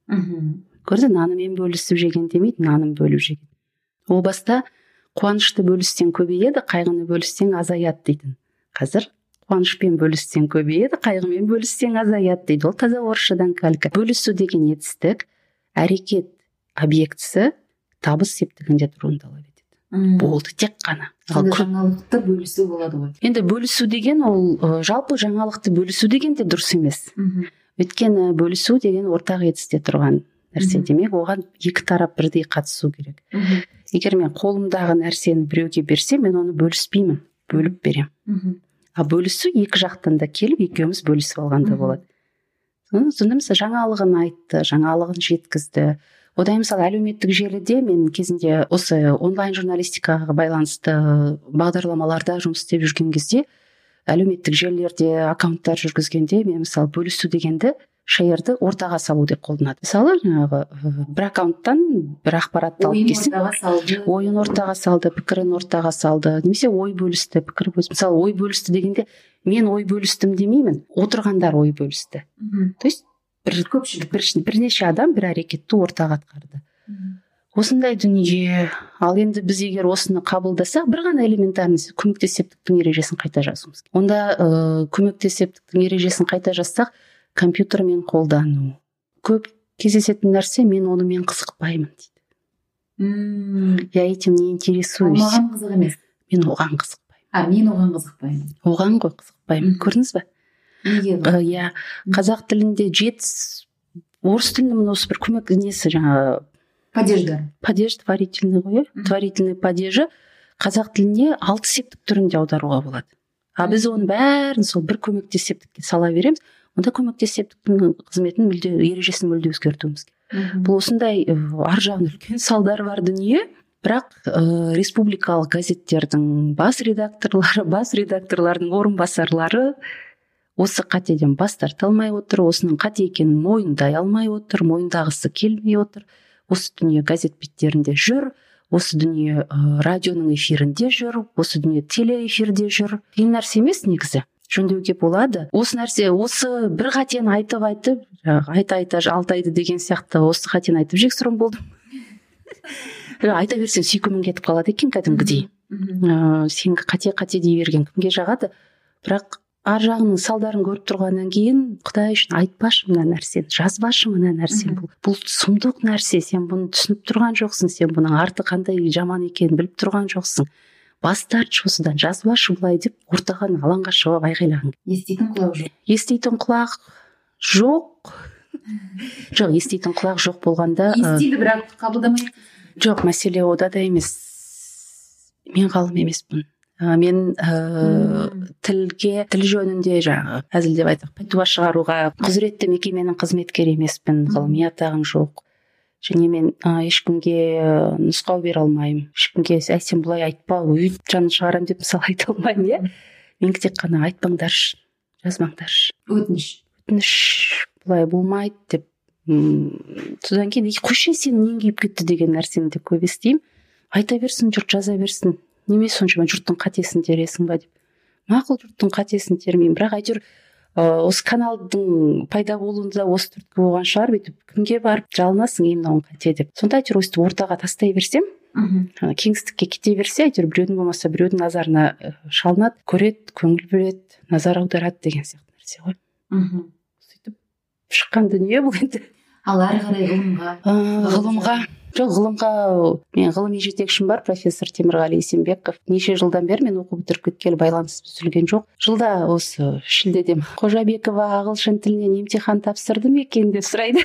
Көрді, нанымен бөлісіп жеген демейді, нанын бөліп жеген. О баста қуанышты бөліссең көбейеді, қайғыны бөліссең азаяды дейтін. Қазір қуанышпен бөліссең көбейеді, қайғымен бөліссең азаяды дейді. Ол таза орысшадан калька. Бөлісу деген етістік, әрекет объектісі табыс септігінде тұруын талап етеді. Болды, тек қана. Жаңалықты бөлісу болады ғой. Енді бөлісу деген ол жалпы жаңалықты бөлісу деген де дұрыс емес. Өйткені бөлісу деген ортақ етісте тұрған нәрсе. Демек, оған екі тарап бірдей қатысу керек. Егер мен қолымдағы нәрсені біреуге берсем, мен оны бөліспеймін, бөліп берем. А бөлісу екі жақтан да келіп, екеуміз бөлісіп алғанда болады. Сонда мысалы жаңалығын айтты, жаңалығын жеткізді. Одан мысалы әлеуметтік желіде мен кезінде осы онлайн журналистикаға байланысты бағдарламаларда жұмыс істеп жүрген кезде, әлеуметтік желілерде аккаунттар жүргізгенде мен мысалы бөлісу дегенді шеерді ортаға салу деп қолданады. Мысалы жаңағы бір аккаунттан бір ақпаратты алып келсең, ойын ортаға салды, ойын ортаға салды, пікірін ортаға салды, немесе ой бөлісті, пікір бөлісті. Мысалы ой бөлісті дегенде мен ой бөлістім демеймін, отырғандар ой бөлісті. То есть бір көпшілік, бір, бірнеше адам бір әрекетті ортаға атқарды. Осындай дүние. Ал енді біз егер осыны қабылдасақ, бір ғана элементарный көмектес септіктің ережесін қайта жазуымыз керек. Онда ә, көмектес септіктің ережесін қайта жазсақ, компьютермен қолдану. Көп кездесетін нәрсе, мен онымен қызықпаймын дейді. Мм. Я этим не интересуюсь. Маған қызық емес. Мен оған қызықпаймын. А, мен оған қызықпаймын. Оған ғой қызықпаймын. Көрдіңіз бе? Неге? Иә, қазақ тілінде жеті, орыс тілінде осы бір көмек несі жаңағы падеждар. Падеж творительный ғой, творительный падежі қазақ тіліне алты септік түрінде аударуға болады. А біз оның бәрін сол бір көмектес септікке сала береміз. Онда көмектес септіктің қызметін мүлде, ережесін мүлде өзгертуіміз керек. Бұл осындай ар жағында үлкен салдары бар дүние. Бірақ ә, республикалық газеттердің бас редакторлары, бас редакторлардың орынбасарлары осы қатеден бас тарта алмай отыр, осының қате екенін мойындай алмай отыр, мойындағысы келмей отыр. Осы дүние газет беттерінде жүр, осы дүние ә, радионың эфирінде жүр, осы дүние телеэфирде жүр. Қиын нәрсе емес негізі. Жөндеуге болады. Осы нәрсе, осы бір қатені айтып айтып, айта айта алтайды деген сияқты осы қатені айтып жексұрын болдым. Айта берсең сүйкімің кетіп қалады екен кәдімгідей. ә, Сен қате қате дей берген кімге жағады? Бірақ ар жағының салдарын көріп тұрғаннан кейін, Құдай үшін айтпашы мына нәрсені, жазбашы мына нәрсені. Бұл, бұл сұмдық нәрсе, сен бұны түсініп тұрған жоқсың, сен бұның арты қандай жаман екенін біліп тұрған жоқсың. Бас тартшы осыдан, жазбашы былай деп ортаған алаңға шығып айғайлаған. Еститін құлақ жоқ. Еститін құлақ жоқ. Жоқ, еститін құлақ жоқ болғанда. Естиді, бірақ қабылдамайды. Жоқ, мәселе ода да емес. Мен ғалым емеспін. Мен ә, тілге, тіл жөнінде жаңағы әзілдеп айтсақ, пәтуа шығаруға құзыретті мекеменің қызметкері емеспін, ғылыми атағым жоқ. Және мен ә, ешкімге нұсқау бере алмаймын. Ешкімге әй сен бұлай айтпа, өйт жанын шығарам деп мысалы айта алмаймын, иә. Мен тек қана айтпаңдаршы, жазбаңдаршы. Өтініш. Өтініш бұлай болмайды деп. М, содан кейін қойшы сен нең күйіп кетті деген нәрсені де көп естимін. Айта берсін, жұрт жаза берсін. Неме соншама жұрттың қатесін тересің ба деп. Мақұл, жұрттың қатесін термеймін, бірақ әйтеуір осы каналдың пайда болуында осы түрткі болған шығар, бүйтіп кімге барып жалынасың ем мынауың қате деп. Сонда әйтеуір өстіп ортаға тастай берсем, кеңістікке кете берсе, әйтеуір біреудің болмаса біреудің назарына шалынады, көреді, көңіл бөледі, назар аударады деген сияқты нәрсе ғой. Сөйтіп шыққан дүние бұл енді. Ал әрі қарай ғылымға? Ғылымға Жоқ, ғылымға мен ғылыми жетекшім бар, профессор Темірғали Есенбеков. Неше жылдан бері мен оқу бітіріп кеткелі байланыс үзілген жоқ. Жылда осы шілдеде Қожабекова ағылшын тілінен емтихан тапсырды ма екен деп сұрайды.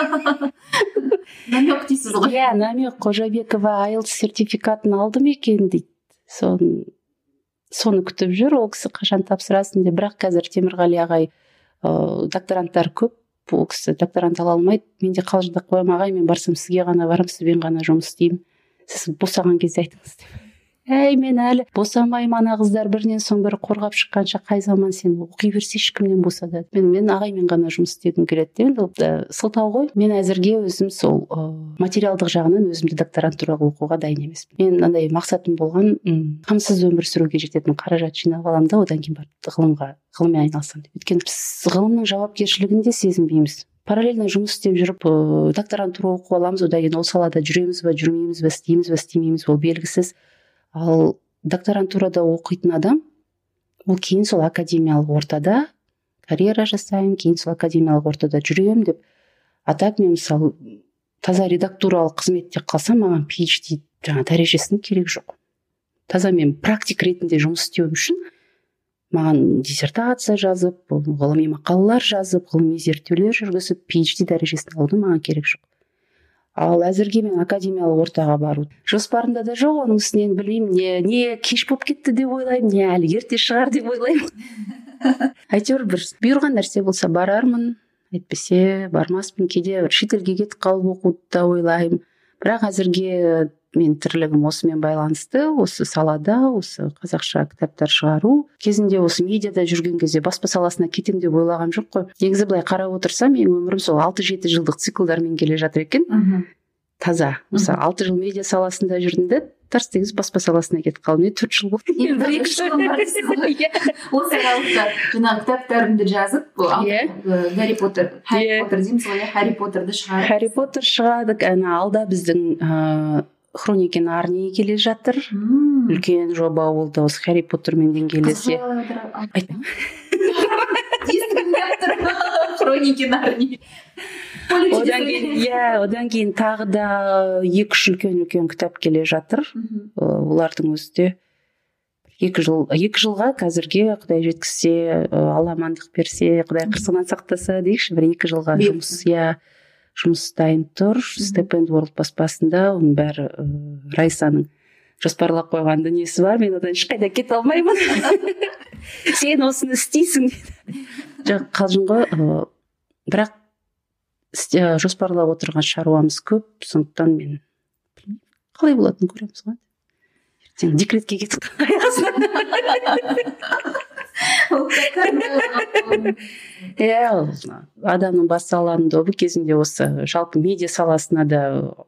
Намек дейсіз ғой. Иә, намек Қожабекова айлтс сертификатын алды ма екен дейді. Соны соны күтіп жүр, ол кісі қашан тапсырасын деп. Бірақ қазір Темірғали ағай докторанттар көп. Бұл кісі докторант ала алмайды. Мен де қалжыңдап қоямын, ағай, мен барсам сізге ғана барам, сізбен ғана жұмыс істеймін. Сіз босаған кезде айтыңыз деп. Әй, мен әлі босамаймын, ана қыздар бірінен соң бірі қорғап шыққанша қай заман сен оқи берсе ешкімнен босады. Мен мен ағаймен ғана жұмыс істегім келеді. Енді сылтау ғой. Мен әзірге өзім сол материалдық жағынан өзімді докторантураға оқуға дайын емеспін. Мен мынандай мақсатым болған, қамсыз өмір сүруге жететін қаражат жинап аламын да, одан кейін барып ғылымға, ғылыммен айналысамын деп. Өйткені біз ғылымның жауапкершілігін де сезінбейміз. Параллельно жұмыс істеп жүріп, докторантура оқып аламыз, одан кейін ол салада жүреміз бе, жүрмейміз бе, істейміз бе, істемейміз, ол белгісіз. Ал докторантурада оқитын адам, ол кейін сол академиялық ортада карьера жасаймын, кейін сол академиялық ортада жүремін деп. А так мен мысалы таза редактуралық қызметте қалсам, маған пи эйч ди жаңа дәрежесінің керек жоқ. Таза мен практик ретінде жұмыс істеуім үшін маған диссертация жазып, ғылыми мақалалар жазып, ғылыми зерттеулер жүргізіп, пи эйч ди дәрежесін алудың маған керек жоқ. Ал әзірге мен академиялық ортаға бару жоспарымда да жоқ. Оның үстінен білмеймін, не, не кеш болып кетті деп ойлаймын, не әлі ерте шығар деп ойлаймын. Әйтеуір бір бұйырған нәрсе болса барармын, әйтпесе бармаспын. Кейде бір шетелге кетіп қалып оқуды да ойлаймын. Бірақ әзірге мен тірлігім осымен байланысты, осы салада, осы қазақша кітаптар шығару. Кезінде осы медиада жүрген кезде баспа саласына кетем деп ойлаған жоқ қой. Негізі былай қарап отырсам, менің өмірім сол алты жеті жылдық циклдармен келе жатыр екен. Таза. Мысалы алты жыл медиа саласында жүрдім де, тарс тегіс баспа саласына кетіп қалдым. Мен төрт жыл болды. Осы аралықта жаңағы кітаптарымды жазып, Гарри Поттер, Харри Поттер дейміз ғой, Харри Поттерді шығардық. Харри Поттер шығардық. Ана алда біздің Хроники Нарнии келе жатыр. Үлкен жоба болды осы Харри Поттермен деңгейлесе. Айтпаймын. Хроники Нарнии. Одан кейін, иә, одан кейін тағы да екі үш үлкен-үлкен кітап келе жатыр. Олардың өзі де екі жыл, екі жылға қазірге Құдай жеткізсе, Алла амандық берсе, Құдай қырсығынан сақтаса дейікші, бір екі жылға жұмыс, иә, жұмыс дайын тұр. Степенд World баспасында, оның бәрі Райсаның жоспарлап қойған дүниесі бар. Мен одан ешқайда кете алмаймын. Сен осыны істейсің. Жоқ, қалжың ғой, бірақ жоспарлап отырған шаруамыз көп, сондықтан мен қалай болатынын көреміз ғой. Ертең декретке кетіп иә, адамның бас саланың добы кезінде осы жалпы медиа саласына да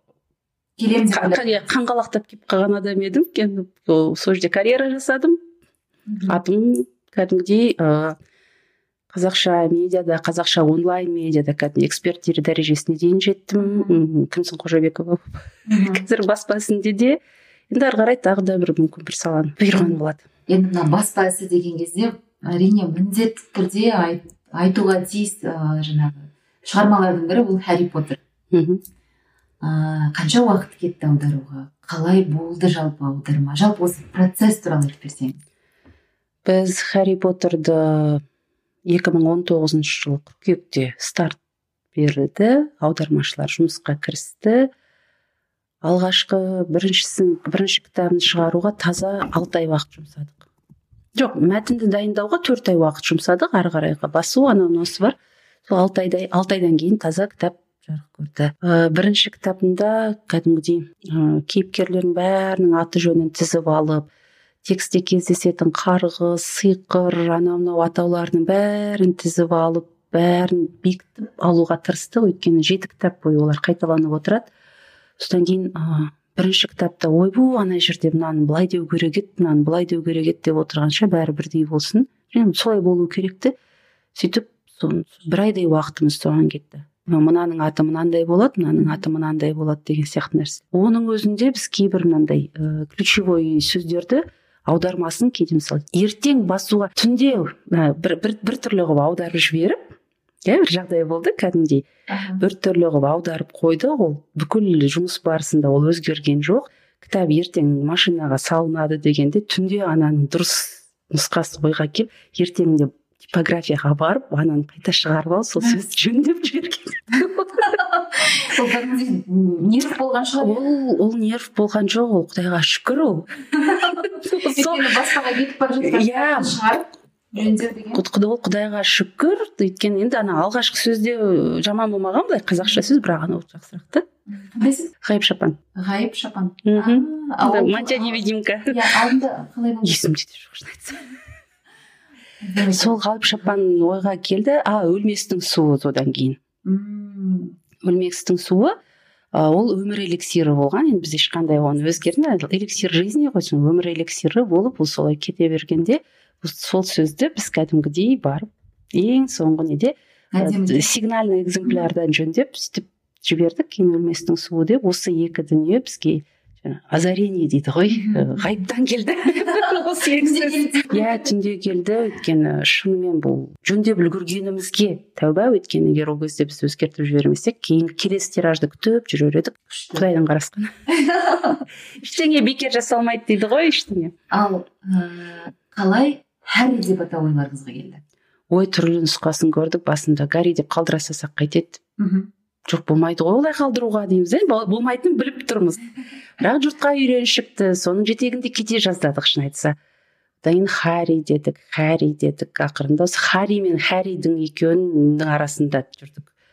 қанғалақтап келіп қалған адам едім. Сол жерде карьера жасадым. Атым кәдімгідей қазақша медиада, қазақша онлайн медиада кәдімгі эксперт дәрежесіне дейін жеттім. Күмсін Қожабекова қазір баспа ісінде де. Енді ары қарай тағы да бір мүмкін бір саланы бұйырған болады. Енді мына баспа ісі деген кезде әрине міндетті түрде айтуға тиіс жаңағы шығармалардың бірі бұл Харри Поттер. Қанша уақыт кетті аударуға? Қалай болды жалпы аударма? Жалпы осы процесс туралы айтып берсеңіз. Біз Харри Поттерді екі мың он тоғызыншы жылы қыркүйекте старт берді, аудармашылар жұмысқа кірісті. Алғашқы біріншісін, бірінші кітабын шығаруға таза алты ай уақыт жұмсадық. Жоқ, мәтінді дайындауға төрт ай уақыт жұмсадық, ары қарайға басу, анау мынаусы бар. Сол алты айдай, алты айдан кейін таза кітап жарық көрді. Бірінші кітабында кәдімгідей кейіпкерлердің бәрінің аты жөнін тізіп алып, текстте кездесетін қарғыс, сиқыр, анау мынау атауларының бәрін тізіп алып, бәрін бекітіп алуға тырыстық. Өйткені жеті кітап бойы олар қайталанып отырады. Содан кейін бірінші кітапта ойбу ана жерде мынаны былай деу керек еді, мынаны былай деу керек еді деп отырғанша бәрі бірдей болсын. Және солай болу керекті. Сөйтіп бір айдай уақытымыз соған кетті. Мынаның аты мынандай болады, мынаның аты мынандай болады деген сияқты нәрсе. Оның өзінде біз кейбір мынандай ключевой сөздерді аудармасын кейде мысалы ертең басуға түнде бір, бір, бір түрлі қылып аударып жіберіп, иә, бір жағдай болды кәдімгідей. Бір түрлі қылып аударып қойды, ол бүкіл жұмыс барысында ол өзгерген жоқ. Кітап ертең машинаға салынады дегенде түнде ананың дұрыс нұсқасы ойға келіп, ертеңінде типографияға барып, ананы қайта шығарып алып, сол сөзді жөндеп жіберген. Ол нерв болған шығар. Ол ол нерв болған жоқ, ол Құдайға шүкір ол. Өйткені басқаға кетіп бара жатқан шығарып жөндеу деген. Құдайға шүкір, өйткені енді ана алғашқы сөзде жаман болмаған, былай қазақша сөз, бірақ анау жақсырақ та. Ғайып шапан. Ғайып шапан. Мантия невидимка. Иә, алдында қалай болды? Есімде де жоқ, шын айтсам. Сол ғайып шапан ойға келді. А, өлместің суы одан кейін. Өлместің суы ол өмір эликсирі болған. Енді біз ешқандай оны өзгерді. Эликсир жизни ғой, өмір эликсирі болып, ол солай кете бергенде сол сөзді біз кәдімгідей барып ең соңғы неде сигнальный экземплярдан жөндеп сөйтіп жібердік. Кейін өлместің суы деп осы екі дүние бізге озарение дейді ғой, ғайыптан келді. Иә, түнде келді. Өйткені шынымен бұл жөндеп үлгергенімізге тәуба. Өйткені егер ол кезде біз өзгертіп жібермесек, кейін келесі тиражды күтіп жүрер едік. Құдайдан қарасқан. Ештеңе бекер жасалмайды дейді ғой, ештеңе. Ал қалай Харри деп атау ойларыңызға келді? Ой, түрлі нұсқасын көрдік. Басында Гарри деп қалдыра салсақ қайтеді. Жоқ, болмайды ғой олай қалдыруға дейміз. Болмайтынын біліп тұрмыз. Бірақ жұртқа үйреншікті. Соның жетегінде кете жаздадық, шын айтса. Дайын Харри дедік, Харри дедік. Ақырында осы Харри мен Харридің екеуінің арасында жүрдік.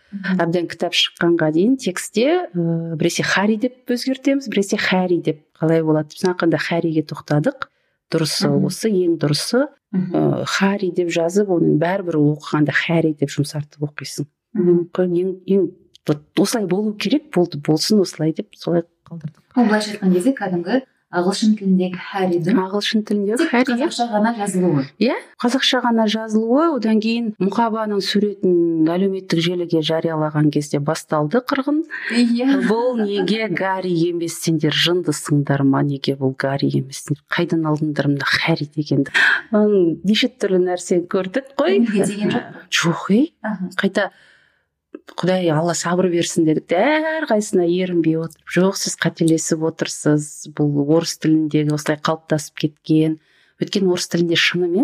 Әбден кітап шыққанға дейін текстте ә, біресе Харри деп өзгертеміз, біресе Харри деп қалай болады. Біз ақырында Харриге тоқтадық. Дұрысы осы, ең дұрысы ә, Харри деп жазып, оның бәрібір оқығанда Харри деп жұмсартып оқисың. Ең, ең осылай болу керек, болды, болсын осылай деп солай қалдырдық. Ол былайша айтқан кезде кәдімгі ағылшын тіліндегі Харридің ағылшын тіліндегі Харри қазақша ғана жазылуы. Иә, қазақша ғана жазылуы, одан кейін мұқабаның суретін әлеуметтік желіге жариялаған кезде басталды қырғын. Иә. Бұл неге Гарри емес, сендер жындысыңдар ма, неге бұл Гарри емес, қайдан алдыңдар мына Харри дегенді. Неше түрлі нәрсе көрдік қой. Неге деген жоқ? Жоқ, ей. Қайта Құдай Алла сабыр берсін дедік те, әрқайсысына ерінбей отырып, жоқ, сіз қателесіп отырсыз, бұл орыс тіліндегі осылай қалыптасып кеткен. Өйткені орыс тілінде шынымен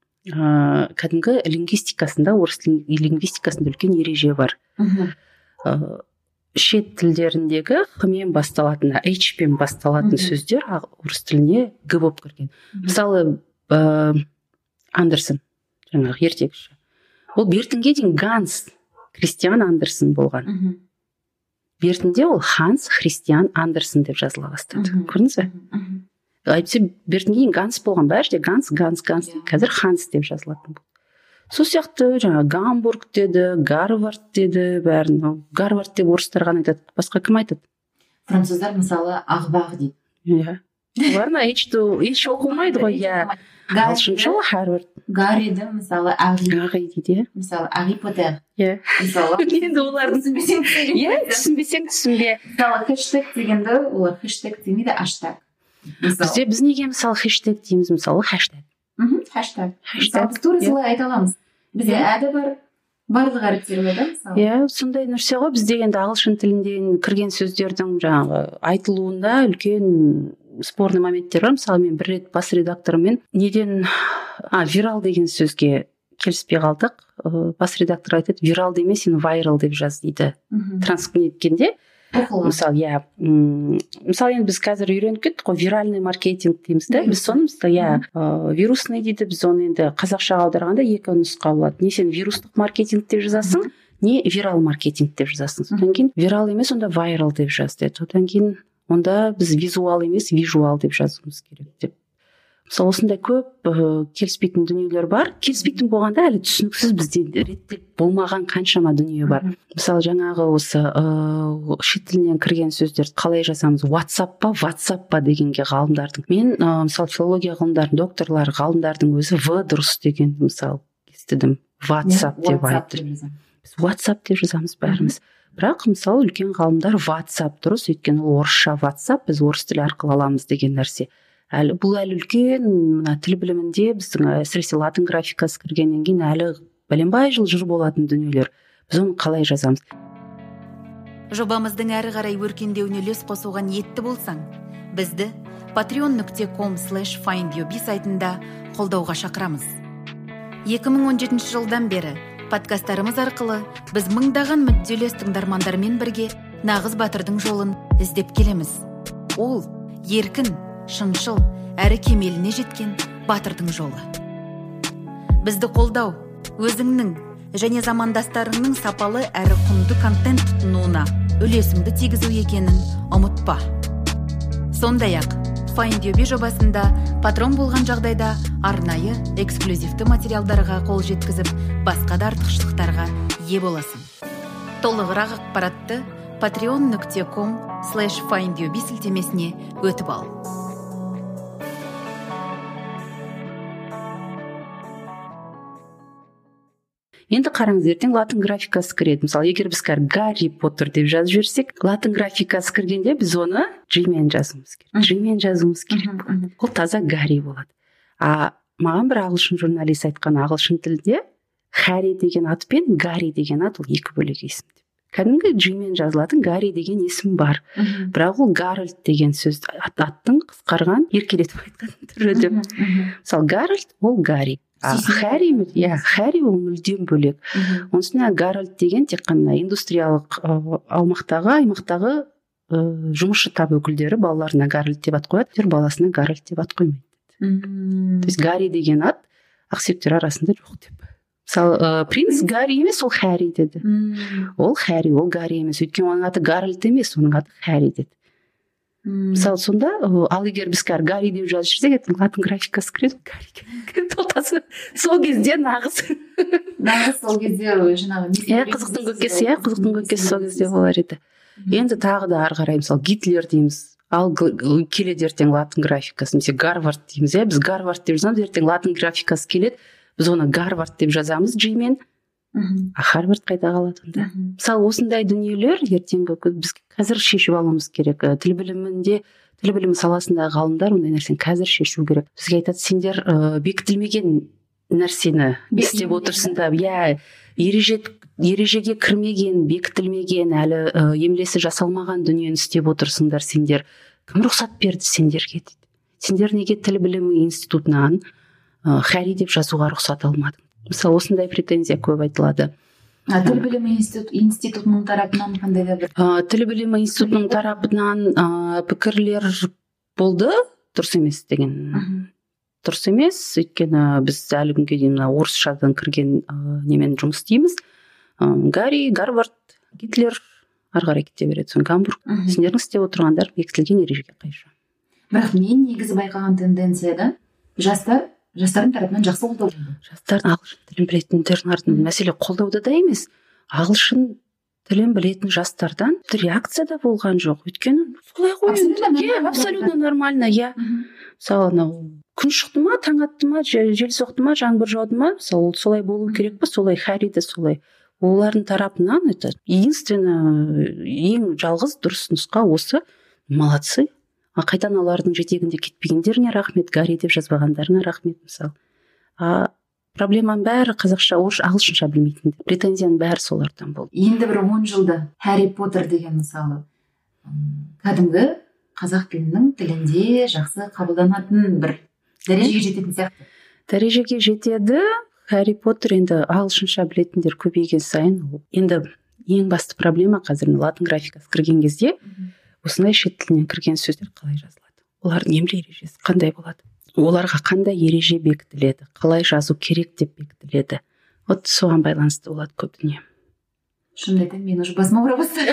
ә, кәдімгі лингвистикасында, орыс лингвистикасында үлкен ереже бар. Ә, шет тілдеріндегі х-мен басталатын, h-пен басталатын сөздер орыс тіліне г болып кірген. Мысалы, ә, Андерсон, жаңағы ертегіші. Ол бертінге дейін Ганс Христиан Андерсон болған. Бертінде ол Ханс Христиан Андерсон деп жазыла бастады. Көрдіңіз бе? Әйтпесе бертінге дейін Ганс болған, бәрі де Ганс, Ганс, Ганс. Қазір Ханс деп жазылатын болды. Сол сияқты жаңа Гамбург деді, Гарвард деді, бәрін. Гарвард деп орыстар ғана айтады, басқа кім айтады? Француздар мысалы Ағбақ дейді. Иә. Оларына еш оқылмайды ғой, иә. Ағылшынша Харвард. Гарриді мысалы Ағи. Ағи дейді. Мысалы Ағи Потер. Иә. Мысалы. Енді олардың түсінбесең Иә, түсінбесең түсінбе. Мысалы хэштег дегенді олар хэштег демейді, аштаг. Бізде біз неге мысалы хэштег дейміз, мысалы хэштег. Мхм, хэштег. Мысалы біз тура солай айта аламыз. Бізде әді бар, барлық әріптер бар да мысалы. Иә, сондай нәрсе ғой. Бізде енді ағылшын тілінден кірген сөздердің жаңағы айтылуында үлкен спорный моменттер бар. Мысалы мен бір рет бас редакторымен неден а вирал деген сөзге келіспей қалдық. Бас редактор айтады, вирал емес, сен вайрал деп жаз дейді. Транскриптінде мысалы, иә, мысалы енді біз қазір үйреніп кеттік қой, виральный маркетинг дейміз да. Біз соны мысалы, иә, вирусный дейді. Біз оны енді қазақшаға аударғанда екі нұсқа болады. Не сен вирустық маркетинг деп жазасың, не вирал маркетинг деп жазасың. Содан кейін вирал емес, онда вайрал деп жаз деді. Одан кейін онда біз визуал емес, вижуал деп жазуымыз керек деп. Мысалы, осындай көп ә, келіспейтін дүниелер бар. Келіспейтін болғанда әлі түсініксіз бізде реттеп болмаған қаншама дүние бар. Мысалы, жаңағы осы ә, шет тілінен кірген сөздерді қалай жазамыз? WhatsApp па, WhatsApp па дегенге ғалымдардың. Мен ә, мысалы, филология ғылымдарының докторлары, ғалымдардың өзі В дұрыс деген мысалы естідім. WhatsApp деп айтты. Біз WhatsApp деп жазамыз бәріміз. Бірақ мысалы үлкен ғалымдар WhatsApp дұрыс, өйткені ол орысша WhatsApp, біз орыс тілі арқылы аламыз деген нәрсе. Әлі бұл әлі үлкен мына тіл білімінде біздің әсіресе латын графикасы кіргеннен кейін әлі бәленбай жыл жүр болатын дүниелер. Біз оны қалай жазамыз? Жобамыздың әрі қарай өркендеуіне үлес қосуға ниетті болсаң, бізді patreon нүкте ком слэш файндюби сайтында қолдауға шақырамыз. екі мың он жетінші жылдан бері подкасттарымыз арқылы біз мыңдаған мүдделес тыңдармандармен бірге нағыз батырдың жолын іздеп келеміз. Ол еркін, шыншыл, әрі кемеліне жеткен батырдың жолы. Бізді қолдау, өзіңнің және замандастарыңның сапалы әрі құнды контент тұтынуына үлесіңді тигізу екенін ұмытпа. Сондай-ақ, Findyobi жобасында патрон болған жағдайда арнайы эксклюзивті материалдарға қол жеткізіп, басқа да артықшылықтарға ие боласың. Толығырақ ақпаратты patreon нүкте ком слэш файндюби сілтемесіне өтіп ал. Енді қараңыз, ертең латын графикасы кіреді. Мысалы, егер біз кәр Гарри Поттер деп жазып жіберсек, латын графикасы кіргенде біз оны G-мен жазуымыз керек. G-мен жазуымыз керек. Ол таза Гарри болады. А маған бір ағылшын журналист айтқан, ағылшын тілде Харри деген ат пен Гарри деген ат ол екі бөлек есім деп. Кәдімгі G-мен жазылатын Гарри деген есім бар. Бірақ ол Гарольд деген сөз аттың қысқарған еркелетіп айтқан түрі деп. Мысалы, Гарольд ол Гарри. Харри, иә, Харри ол мүлдем бөлек. Онысына Гарольд деген тек қана индустриялық аумақтағы, аймақтағы жұмысшы тап өкілдері балаларына Гарольд деп ат қояды, тер баласына Гарольд деп ат қоймайды. То есть Гарри деген ат ақсүйектер арасында жоқ деп. мысалы принц Гарри емес, ол Харри деді. Ол Харри, ол Гарри емес, өйткені оның аты Гарольд емес, оның аты Харри деді. Мысалы сонда, ал егер біз қазір Гарри деп жазып жүрсек, латын графикасы кіреді, Гарри тотасы сол кезде нағыз нағыз сол кезде жаңағы иә қызықтың көкесі иә қызықтың көкесі сол кезде болар еді. Енді тағы да ары қарай мысалы Гитлер дейміз, ал келеді ертең латын графикасы, немесе Гарвард дейміз, иә біз Гарвард деп жазамыз, ертең латын графикасы келеді, біз оны Гарвард деп жазамыз G-мен, а Харвард қайда қалады онда? Мысалы осындай дүниелер ертеңгі біз қазір шешіп алуымыз керек. Тіл білімінде, тіл білімі саласындағы ғалымдар ондай нәрсені қазір шешу керек. Бізге айтады, сендер ә, бекітілмеген нәрсені істеп отырсыңдар, иә ереже ережеге кірмеген, бекітілмеген, әлі ә, емлесі жасалмаған дүниені істеп отырсыңдар сендер. Кім рұқсат берді сендерге дейді. Сендер неге тіл білімі институтынан ә, Харри деп жазуға рұқсат алмадың? Мысалы осындай претензия көп айтылады. А тіл білімі институт, институтының тарапынан қандай да бір ә, тіл білімі институтының тарапынан ә, пікірлер болды, дұрыс емес деген. Дұрыс емес, өйткені біз әлі күнге дейін орысшадан кірген ә, немен жұмыс істейміз. Ә, Гарри, Гарвард, Гитлер ары қарай кете береді, соң Гамбург. Сендердің істеп отырғандар бекітілген ережеге қайшы. Бірақ мен негізі байқаған тенденцияда жастар жастардың тарапынан жақсы қолдау болды. Жастардың ағылшын тілін білетіндердің артынан мәселе қолдауда да емес, ағылшын тілін білетін жастардан реакция да болған жоқ. Өйткені солай ғой, абсолютно нормально, иә. Мысалы анау күн шықты ма, таң атты ма, жел соқты ма, жаңбыр жауды ма, мысалы солай болу керек па, солай Харри де солай. Олардың тарапынан это единственно ең жалғыз дұрыс нұсқа осы, молодцы. А қайдан олардың жетегінде кетпегендеріңе рахмет, Гарри деп жазбағандарыңа рахмет, мысалы. А проблеманың бәрі қазақша, орыс, ағылшынша білмейтін. Претензияның бәрі солардан болды. Енді бір он жылда Харри Поттер деген мысалы кәдімгі қазақ тілінің тілінде жақсы қабылданатын бір дәрежеге жететін сияқты. Дәрежеге жетеді. Харри Поттер енді ағылшынша білетіндер көбейген сайын, енді ең басты проблема қазір латын графикасы кірген кезде осындай шет тілінен кірген сөздер қалай жазылады? Олардың емле ережесі қандай болады? Оларға қандай ереже бекітіледі? Қалай жазу керек деп бекітіледі? Вот соған байланысты болады көп дүние. Шынымды айтайын, мен уже басыма ауыра бастады.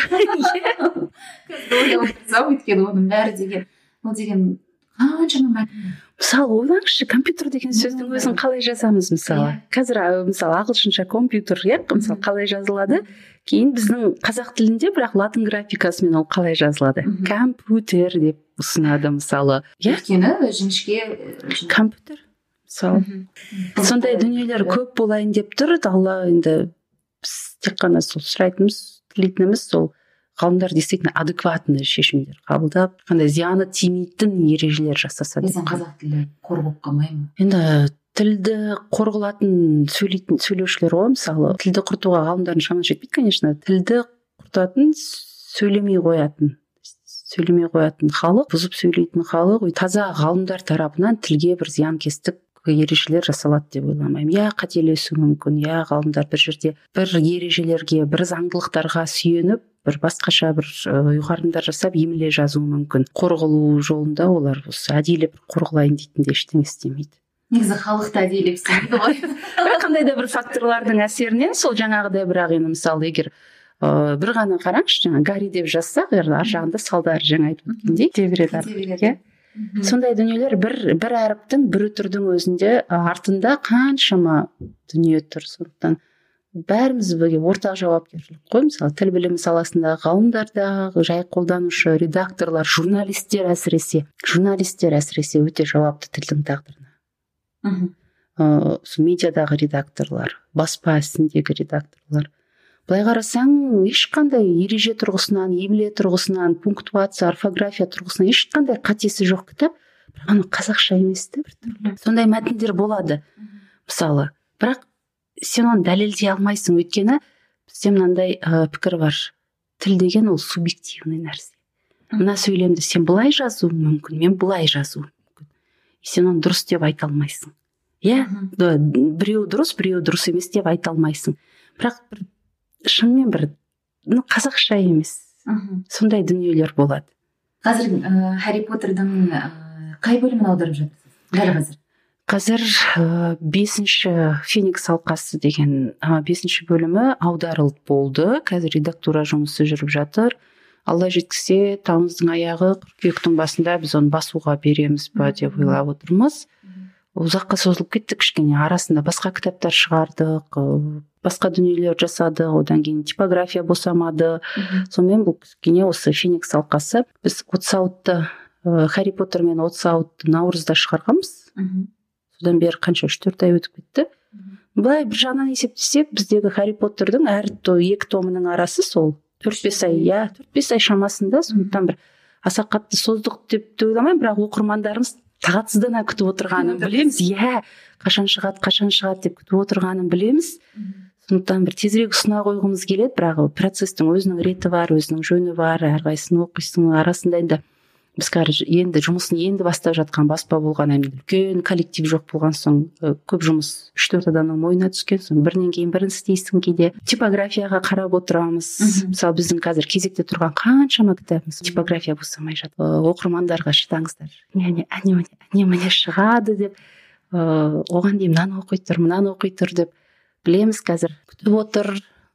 Өйткені оның бәрі деген, ол деген қаншама мәтін. Мысалы ойлаңызшы, компьютер деген сөздің өзін қалай жазамыз мысалы? Қазір мысалы ағылшынша компьютер, иә, мысалы қалай жазылады? Кейін біздің қазақ тілінде бірақ латын графикасымен ол қалай жазылады? Компьютер деп ұсынады мысалы. Өйткені жіңішке компьютер мысалы. Сондай дүниелер көп болайын деп тұр. Алла енді біз тек қана сол сұрайтынымыз, тілейтініміз сол ғалымдар действительно адекватный шешімдер қабылдап, қандай зияны тимейтін ережелер жасаса деп. Біздің қазақ тілі қор болып қалмай ма? Енді тілді қор қылатын сөйлейтін сөйлеушілер ғой, мысалы тілді құртуға ғалымдардың шамасы жетпейді, конечно. Тілді құртатын сөйлемей қоятын сөйлемей қоятын халық, бұзып сөйлейтін халық, таза ғалымдар тарапынан тілге бір зиянкестік ережелер жасалады деп ойламаймын. Я қателесу мүмкін, я ғалымдар бір жерде бір ережелерге, бір заңдылықтарға сүйеніп, бір басқаша бір ұйғарымдар жасап емле жазуы мүмкін. Қорғылу жолында олар осы әдейі бір қорғылайын дейтін де ештеңе істемейді. Негізі халықты әдейілеп істемейді ғой. Қандай да бір факторлардың әсерінен сол жаңағыдай, бірақ енді мысалы егер ә, бір ғана қараңызшы, жаңа Гарри деп жазсақ, ар жағында салдары жаңа айтып өткендей кете береді. Сондай дүниелер бір бір әріптің бір үтірдің өзінде артында қаншама дүние тұр. Сондықтан бәріміз бірге ортақ жауапкершілік қой. Мысалы тіл білімі саласындағы ғалымдарда, жай қолданушы, редакторлар, журналистер әсіресе, журналистер әсіресе өте жауапты тілдің тағдырына. Ә, медиадағы редакторлар, баспа ісіндегі редакторлар. Былай қарасаң, ешқандай ереже тұрғысынан, емле тұрғысынан, пунктуация, орфография тұрғысынан ешқандай қатесі жоқ кітап, бірақ ана қазақша емес те бір түрлі. Сондай мәтіндер болады. Мысалы, бірақ сен оны дәлелдей алмайсың, өйткені бізде мынандай ә, пікір бар. Тіл деген ол субъективный нәрсе. Мына сөйлемді сен былай жазуың мүмкін, мен былай жазуым мүмкін. Сен оны дұрыс деп айта алмайсың. Иә, біреу дұрыс, біреу дұрыс емес деп айта алмайсың. Бірақ бір шынымен бір ну, қазақша емес. Сондай дүниелер болады. Қазір ә, Харри Поттердің ә, қай бөлімін аударып жатырсыз? Дәл қазір. Қазір бесінші Феникс алқасы деген бесінші бөлімі аударылып болды. Қазір редактура жұмысы жүріп жатыр. Алла жеткісе, тамыздың аяғы, қыркүйектің басында біз оны басуға береміз ба деп ойлап отырмыз. Ұзаққа созылып кетті кішкене. Арасында басқа кітаптар шығардық, басқа дүниелер жасадық, одан кейін типография босамады. Сонымен бұл кішкене осы Феникс алқасы. Біз Отсаутты, Харри Поттер мен Отсаутты наурызда шығарғанбыз. Содан бері қанша үш төрт ай өтіп кетті. Былай бір жағынан есептесек, біздегі Харри Поттердің әр екі томының арасы сол төрт бес ай, иә, төрт бес ай шамасында. Сондықтан бір аса қатты создық деп ойламаймын, бірақ оқырмандарымыз тағатсыздана күтіп отырғанын білеміз. Иә, қашан шығады, қашан шығады деп күтіп отырғанын білеміз. Сондықтан бір тезірек ұсына қойғымыз келеді, бірақ процестің өзінің реті бар, өзінің жөні бар, әрқайсысын оқисың арасында енді біз енді жұмысын енді бастап жатқан баспа болған, үлкен коллектив жоқ болған соң көп жұмыс үш төрт адамның мойнына түскен соң бірінен кейін бірін істейсің. Кейде типографияға қарап отырамыз. Мысалы біздің қазір кезекте тұрған қаншама кітабымыз типография босамай жатыр. Оқырмандарға шыдаңыздар, әне әне міне шығады деп, оған дейін мынаны оқи тұр, мынаны оқи тұр деп білеміз. Қазір күтіп отыр,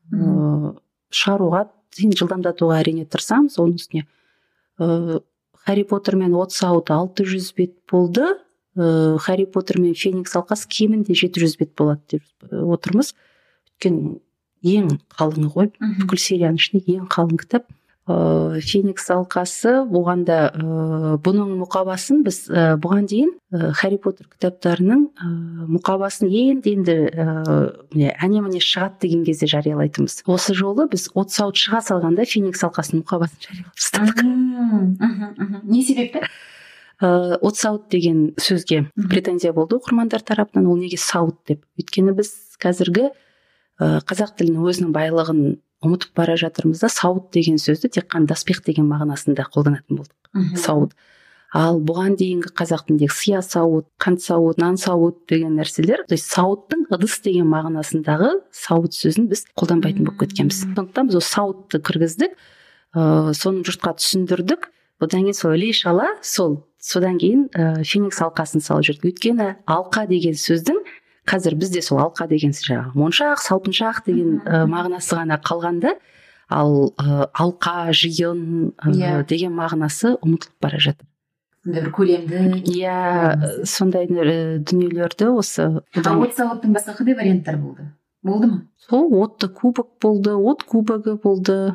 шығаруға жылдамдатуға әрине тырысамыз. Оның үстіне Харри Поттер мен Отсаут алты жүз бет болды. Харри Поттер мен Феникс алқасы кемінде жеті жүз бет болады деп отырмыз. Өйткені ең қалыңы ғой, бүкіл серияның ішінде ең қалың кітап. Феникс алқасы, оған да бұның мұқабасын біз бұған дейін Харри Поттер кітаптарының мұқабасын енді-енді әне міне шығады деген кезде жариялайтынбыз. Осы жолы біз Отсаут шыға салғанда Феникс алқасының мұқабасын жариялап тастадық. Не себепті? Отсаут деген сөзге претензия болды оқырмандар тарапынан, ол неге саут деп. Өйткені біз қазіргі қазақ тілінің өзінің байлығын ұмытып бара жатырмыз да, сауыт деген сөзді тек қана доспех деген мағынасында қолданатын болдық. Сауыт. Ал бұған дейінгі қазақ тіліндегі сия сауыт, қант сауыт, нан сауыт деген нәрселер, то есть сауыттың ыдыс деген мағынасындағы сауыт сөзін біз қолданбайтын болып кеткенбіз. Сондықтан біз осы сауытты кіргіздік, соны жұртқа түсіндірдік. Одан кейін сол іле шала, сол содан кейін Феникс алқасын салып жүрдік. Өйткені алқа деген сөздің қазір бізде сол алқа деген жаңағы моншақ, салпыншақ деген мағынасы ғана қалғанда, ал алқа, жиын деген мағынасы ұмытылып бара жатыр. Бір көлемді. Иә, сондай дүниелерді осы. Отсауыттың басқа қандай варианттар болды? Болды ма? Сол отты кубок болды, от кубогы болды.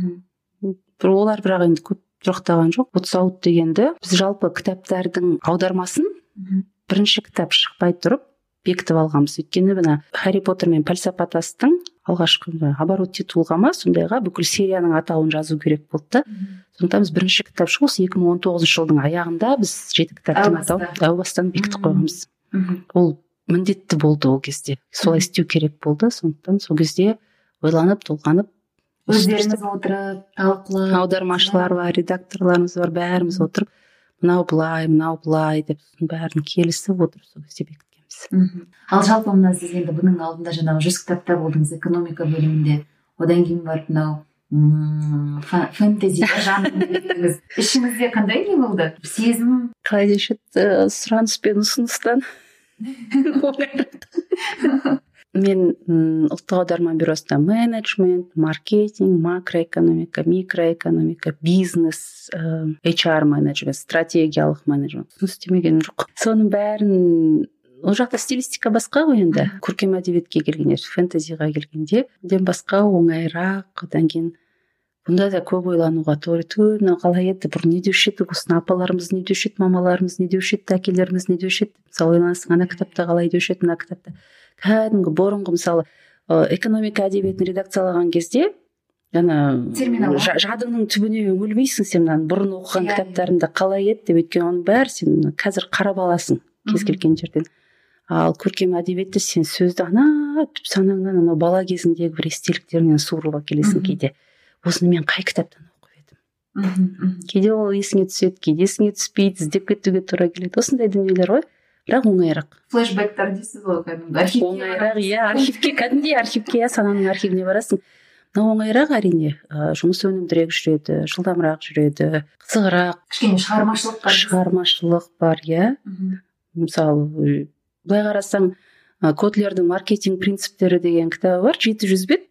Олар бірақ енді көп тұрақтаған жоқ. Отсауыт дегенді біз жалпы кітаптардың аудармасын бірінші кітап шықпай тұрып бекітіп алғанбыз. Өйткені мына Харри Поттер мен пәлсапа тастың алғашқы оборот титулға ма сондайға бүкіл серияның атауын жазу керек болды. Сондықтан біз бірінші кітап шығу осы екі мың он тоғызыншы жылдың аяғында біз жеті кітаптың атауын әу бастан бекітіп қойғанбыз. Ол міндетті болды ол кезде. Солай істеу керек болды. Сондықтан сол кезде ойланып, толғанып, өздеріңіз отырып, талқылап, аудармашылар бар, редакторларымыз бар, бәріміз отырып, мынау былай, мынау былай деп бәрін келісіп отырып сол кезде бекіткенбіз. Ал жалпы мына сіз енді бұның алдында жаңағы жүз кітапта болдыңыз экономика бөлімінде, одан кейін барып мынау фэнтези жанрында беттіңіз. Ішіңізде қандай не болды? Сезім? Қалай деші сұраныс пен ұсыныстан. Мен ұлттық аударма бюросында менеджмент, маркетинг, макроэкономика, микроэкономика, бизнес, эйч ар менеджмент, стратегиялық менеджмент істемеген жоқ. Соның бәрін ол жақта стилистика басқа ғой енді. Көркем әдебиетке келгенде, фэнтезиға келгенде, ден басқа оңайырақ. Одан кейін бұнда да көп ойлануға тура мынау қалай еді, бұрын не деуші еді, осыны апаларымыз не деуші еді, мамаларымыз не деуші еді, әкелеріміз не деуші еді. Мысалы ойланасың, ана кітапта қалай деуші еді, мына кітапта. Кәдімгі бұрынғы мысалы экономика әдебиетін редакциялаған кезде жадыңның түбіне үңілмейсің, сен мынаны бұрын оқыған кітаптарында қалай еді деп, өйткені оның бәрі сен қазір қарап аласың кез келген жерден. Ал көркем әдебиетте сен сөзді ана түп санаңнан анау бала кезіңдегі бір естеліктерінен суырып әкелесің кейде. Осыны мен қай кітаптан оқып едім? Кейде ол есіңе түседі, кейде есіңе түспейді, іздеп кетуге тура келеді. Осындай дүниелер ғой. Бірақ оңайырақ. Флешбектер дейсіз ғой, кәдімгі. Оңайырақ, иә, архивке, кәдімгідей архивке, сананың архивіне барасың. Мынау оңайырақ әрине, жұмыс өнімдірек жүреді, жылдамырақ жүреді, қызығырақ. Кішкене шығармашылық бар. Шығармашылық бар, иә. Мысалы, былай қарасаң Котлердің маркетинг принциптері деген кітабы бар, жеті жүз бет.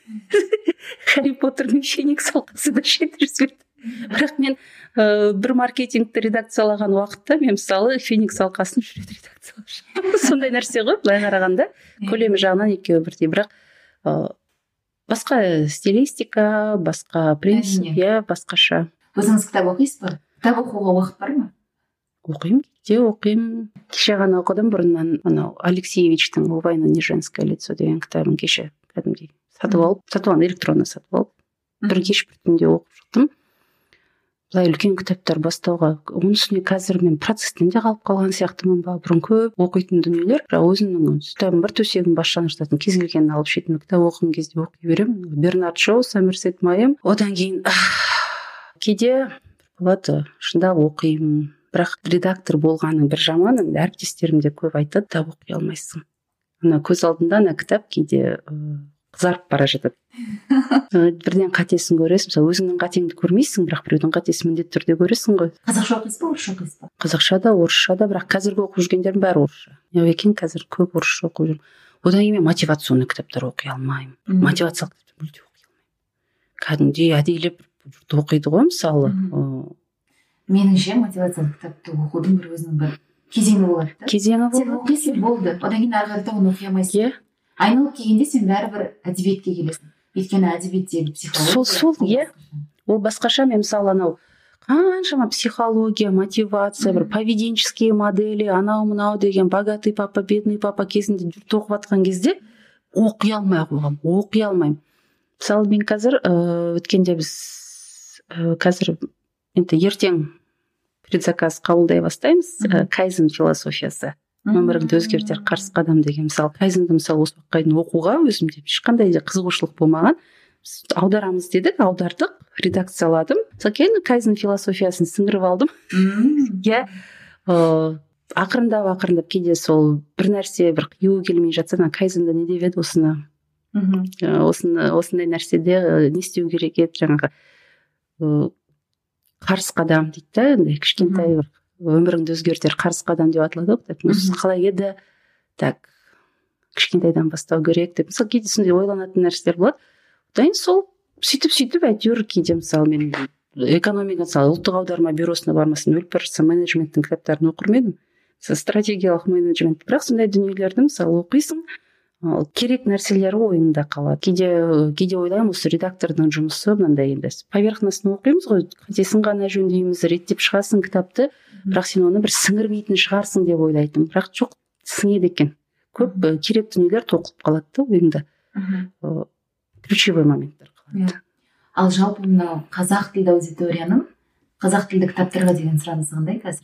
Харри Поттердің феникс алқасы да жеті жүз бет. Бірақ мен ә, бір маркетингті редакциялаған уақытта мен мысалы феникс алқасын үш рет редакциялап сондай нәрсе ғой, былай қарағанда көлемі жағынан екеуі бірдей. Бірақ ә, басқа стилистика, басқа принцип, иә, басқаша. Өзіңіз кітап оқисыз ба? Кітап оқуға уақыт бар ма? Оқимын, кейде оқимын. Кеше ғана оқыдым, бұрыннан анау Алексеевичтің «У войны не женское лицо» деген кітабын кеше кәдімгідей сатып алып, сатып алып, электронды сатып алып, бір кеш бір түнде оқып шықтым. Былай үлкен кітаптар бастауға, оның үстіне қазір мен процестен де қалып қалған сияқтымын ба, бұрын көп оқитын дүниелер, бірақ өзімнің кітабым бар, төсегім бас жанып жататын, кез келгенін алып шетінен кітап оқыған кезде оқи беремін. Бернард Шоу, Сомерсет Мэйм. Одан кейін кейде болады, шындап оқимын. Бірақ редактор болғаның бір жаманы, әріптестерім де көп айтады, кітап оқи алмайсың. Ана көз алдында ана кітап кейде қызарып бара жатады. Бірден қатесін көресің, мысалы өзіңнің қатеңді көрмейсің, бірақ біреудің қатесін міндетті түрде көресің ғой. Қазақша оқисыз ба, орысша оқисыз ба? Қазақша да, орысша да, бірақ қазіргі оқып жүргендердің бәрі орысша. Екен қазір көп орысша оқып жүрмін. Одан кейін мен мотивационный кітаптар оқи алмаймын. Мотивациялық кітаптар мүлде оқи алмаймын. Кәдімгідей әдейілеп жұрт оқиды ғой, мысалы. Меніңше мотивациялық кітапты оқудың бір өзінің бір кезеңі болады да. Кезеңі болады. Сен оқисың, болды. Одан кейін ары қарата оны оқи алмайсың. Иә. Айналып келгенде сен бәрібір әдебиетке келесің. Өйткені әдебиеттегі психология. Сол, сол, иә. Ол басқаша. Мен мысалы анау қаншама психология, мотивация, бір поведенческие модели, анау мынау деген богатый папа, бедный папа кезінде жұрт оқып жатқан кезде оқи алмай қойғам, оқи алмаймын. Мысалы мен қазір өткенде біз қазір енді ертең предзаказ қабылдай бастаймыз. Кайзен философиясы, өміріңді өзгертер қарсы қадам деген. Мысалы кайзенді мысалы осы уақытқа дейін оқуға өзімде ешқандай да қызығушылық болмаған. Аударамыз дедік, аудардық, редакцияладым. Мысалы кейін кайзен философиясын сіңіріп алдым. Иә, ақырындап ақырындап кейде сол бір нәрсе бір қиюы келмей жатса, кайзенде не деп еді осыны, осыны осындай нәрседе не істеу керек еді, жаңағы қарсы қадам дейді да, енді кішкентай бір өміріңді өзгертер қарсы қадам деп аталады ғой кітап. Осы қалай еді, так кішкентайдан бастау керек деп. Мысалы кейде сондай ойланатын нәрселер болады. Одан сол сөйтіп сөйтіп әйтеуір кейде мысалы мен экономика, мысалы ұлттық аударма бюросына бармасын өліп бара жатсам менеджменттің кітаптарын оқыр ма едім? Стратегиялық менеджмент. Бірақ сондай дүниелерді мысалы оқисың, керек нәрселері ойыңда қалады. Кейде кейде ойлаймын, осы редактордың жұмысы мынандай енді поверхностно оқимыз ғой, қатесін ғана жөндейміз, реттеп шығасың кітапты, бірақ сен оны бір сіңірмейтін шығарсың деп ойлайтын. Бірақ жоқ, сіңеді екен. Көп керек дүниелер тоқылып қалады да ойыңда. Ключевой моменттер қалады. Ал жалпы мынау қазақ тілді аудиторияның қазақ тілді кітаптарға деген сұранысы қандай қазір?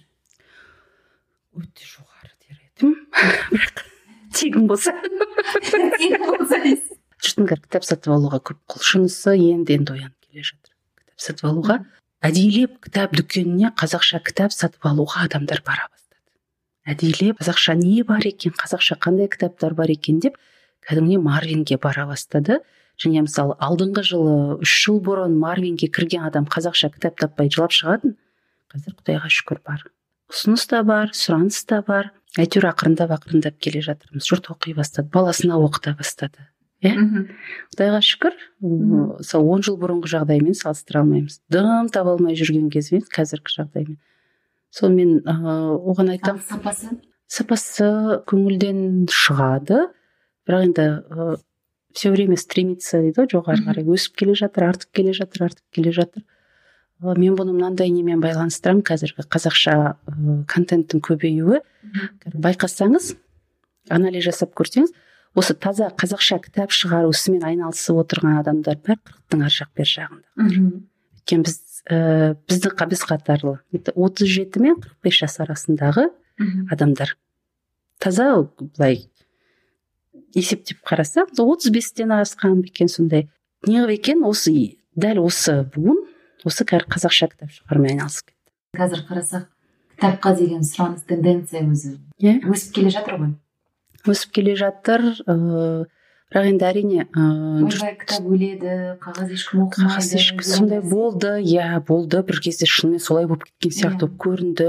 Өте жоғары дер едім. Бірақ тегін болса. Тегін болса дейсіз. Жұрттың кітап сатып алуға көп құлшынысы енді енді оянып келе жатыр. Кітап сатып алуға, әдейілеп кітап дүкеніне қазақша кітап сатып алуға адамдар бара бастады. Әдейілеп қазақша не бар екен, қазақша қандай кітаптар бар екен деп кәдімгідей Марвинге бара бастады. Және мысалы алдыңғы жылы үш жыл бұрын Марвинге кірген адам қазақша кітап таппай жылап шығатын. Қазір Құдайға шүкір бар. Ұсыныс та бар, сұраныс та бар. Әйтеуір ақырындап ақырындап келе жатырмыз. Жұрт оқи бастады, баласына оқыта бастады. Иә? Құдайға шүкір. Мысалы он жыл бұрынғы жағдаймен салыстыра алмаймыз. Дым таба алмай жүрген кезбен қазіргі жағдаймен. Сол мен оған айтам. Сапасы? Сапасы көңілден шығады. Бірақ енді все время стремится дейді, жоғары қарай өсіп келе жатыр, артып келе жатыр, артып келе жатыр. Мен бұны мынандай немен байланыстырамын, қазіргі қазақша контенттің көбеюі. Байқасаңыз, анализ жасап көрсеңіз, осы таза қазақша кітап шығару ісімен айналысып отырған адамдар бәрі қырықтың ар жақ бер жағында. Өйткені біз біздің біз қатарлы отыз жеті мен қырық бес жас арасындағы адамдар. Таза былай есептеп қараса, отыз бестен асқан екен сондай. Неғып екен осы дәл осы буын осы қазақша кітап шығарумен айналысып кетті. Қазір қарасақ, кітапқа деген сұраныс тенденция өзі өсіп келе жатыр ғой. Өсіп келе жатыр, бірақ енді әрине ойбай кітап өледі, қағаз ешкім оқымайды. Сондай болды, иә болды, бір кезде шынымен солай болып кеткен сияқты болып көрінді.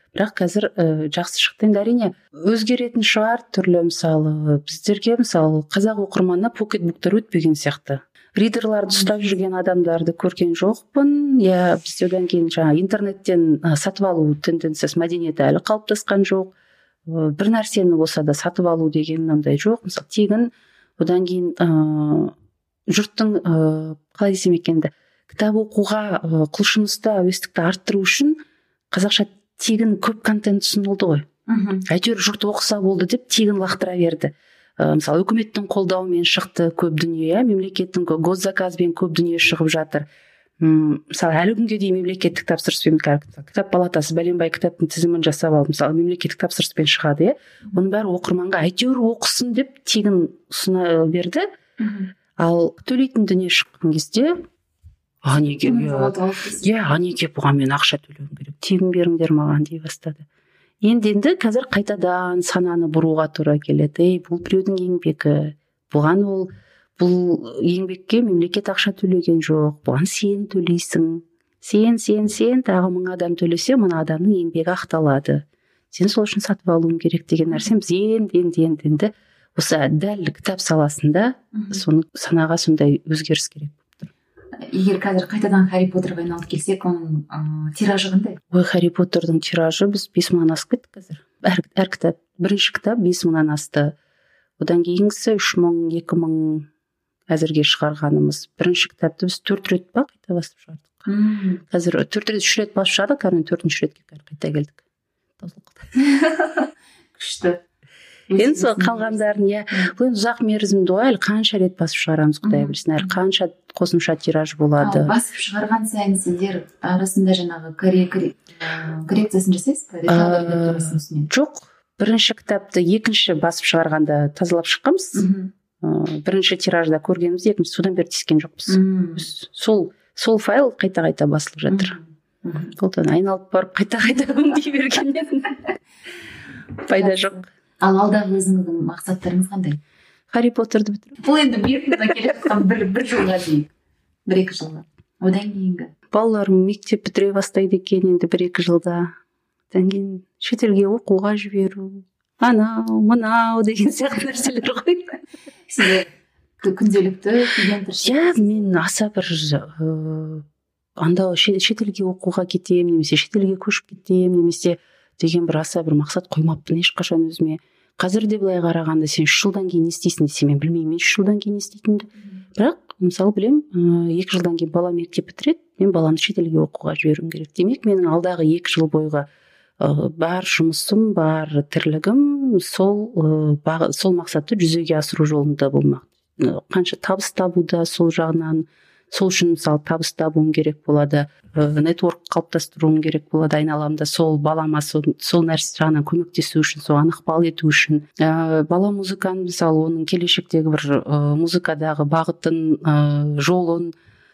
бірақ қазір ә, жақсы шықты. Енді әрине өзгеретін шығар түрлі, мысалы біздерге мысалы қазақ оқырманына покетбуктар өтпеген сияқты, ридерларды ұстап жүрген адамдарды көрген жоқпын. Иә, бізде одан кейін жаңа интернеттен сатып алу тенденциясы, мәдениеті әлі қалыптасқан жоқ. Бір нәрсені болса да сатып алу деген ондай жоқ. Мысалы тегін, одан кейін ә, жұрттың ә, қалай десем екенді, кітап оқуға ә, құлшынысты, әуестікті арттыру үшін қазақша тегін көп контент ұсынылды ғой. Әйтеуір жұрт оқыса болды деп тегін лақтыра берді. Ә, мысалы үкіметтің қолдауымен шықты көп дүние, мемлекеттің госзаказбен көп дүние шығып жатыр. М, мысалы әлі күнге дейін мемлекеттік тапсырыспен кітап палатасы бәленбай кітаптың тізімін жасап алып, мысалы мемлекеттік тапсырыспен шығады, иә, оның бәрі оқырманға әйтеуір оқысын деп тегін ұсына берді. Ал төлейтін дүние шыққан кезде а неге иә а неге бұған мен ақша төлеуім керек, тегін беріңдер маған дей бастады. Енді енді қазір қайтадан сананы бұруға тура келеді. Ей, бұл біреудің еңбегі, бұған ол бұл еңбекке мемлекет ақша төлеген жоқ, бұған сен төлейсің, сен сен сен тағы мың адам төлесе мына адамның еңбегі ақталады, сен сол үшін сатып алуың керек деген нәрсе біз енді енді енді енді осы дәл кітап саласында соны санаға сондай өзгеріс керек. Егер қазір қайтадан Харри Поттерға айналып келсек, оның ә, тиражы қандай? Ой, Харри Поттердің тиражы біз бес мыңнан асып кеттік қазір. Әр, әр кітап, бірінші кітап бес мыңнан асты. Одан кейінгісі үш мың, екі мың әзірге шығарғанымыз. Бірінші кітапты біз төрт рет па қайта басып шығардық. Мм. Қазір төрт рет, үш рет басып шығардық, қазір төртінші ретке қайта келдік. Күшті. Енді сол қалғандарын, иә, бұл енді ұзақ мерзімді ғой, әлі қанша рет басып шығарамыз, құдай білсін, әлі қанша қосымша тираж болады. Ал басып шығарған сайын сендер арасында жаңағы коррекциясын жасайсыз ба? Ә, жоқ, бірінші кітапты екінші басып шығарғанда тазалап шыққанбыз. Ә, бірінші тиражда көргеніміз, екінші содан бері тиіскен жоқпыз. Сол сол файл қайта-қайта басылып жатыр. Одан айналып барып қайта-қайта өңдей бергеннен пайда жоқ. Ал алдағы өзіңіздің мақсаттарыңыз қандай? Харри Поттерді бітіру. Бұл енді бұйыртса келе жатқан бір бір жылға дейін, бір екі жылға. Одан кейінгі балаларым мектеп бітіре бастайды екен енді бір екі жылда. Одан кейін шетелге оқуға жіберу, анау мынау деген сияқты нәрселер ғой. Сізде күнделікті күйген тіршілік? Иә, мен аса бір ыыы анда шетелге оқуға кетем, немесе шетелге көшіп кетем, немесе деген бір аса бір мақсат қоймаппын ешқашан өзіме. Қазір де былай қарағанда сен үш жылдан кейін не істейсің десе, мен білмеймін, мен үш жылдан кейін не істейтінімді. Бірақ мысалы білем, екі жылдан кейін бала мектеп бітіреді, мен баланы шетелге оқуға жіберуім керек. Демек, менің алдағы екі жыл бойғы бар жұмысым, бар тірлігім сол сол мақсатты жүзеге асыру жолында болмақ. Қанша табыс табуда сол жағынан, сол үшін мысалы табыс табуым керек болады, нетворк қалыптастыруым керек болады айналамда, сол балама сол, сол нәрсе жағынан көмектесу үшін, соған ықпал ету үшін. Ә, бала музыканы мысалы оның келешектегі бір ә, музыкадағы бағытын, ә, жолын,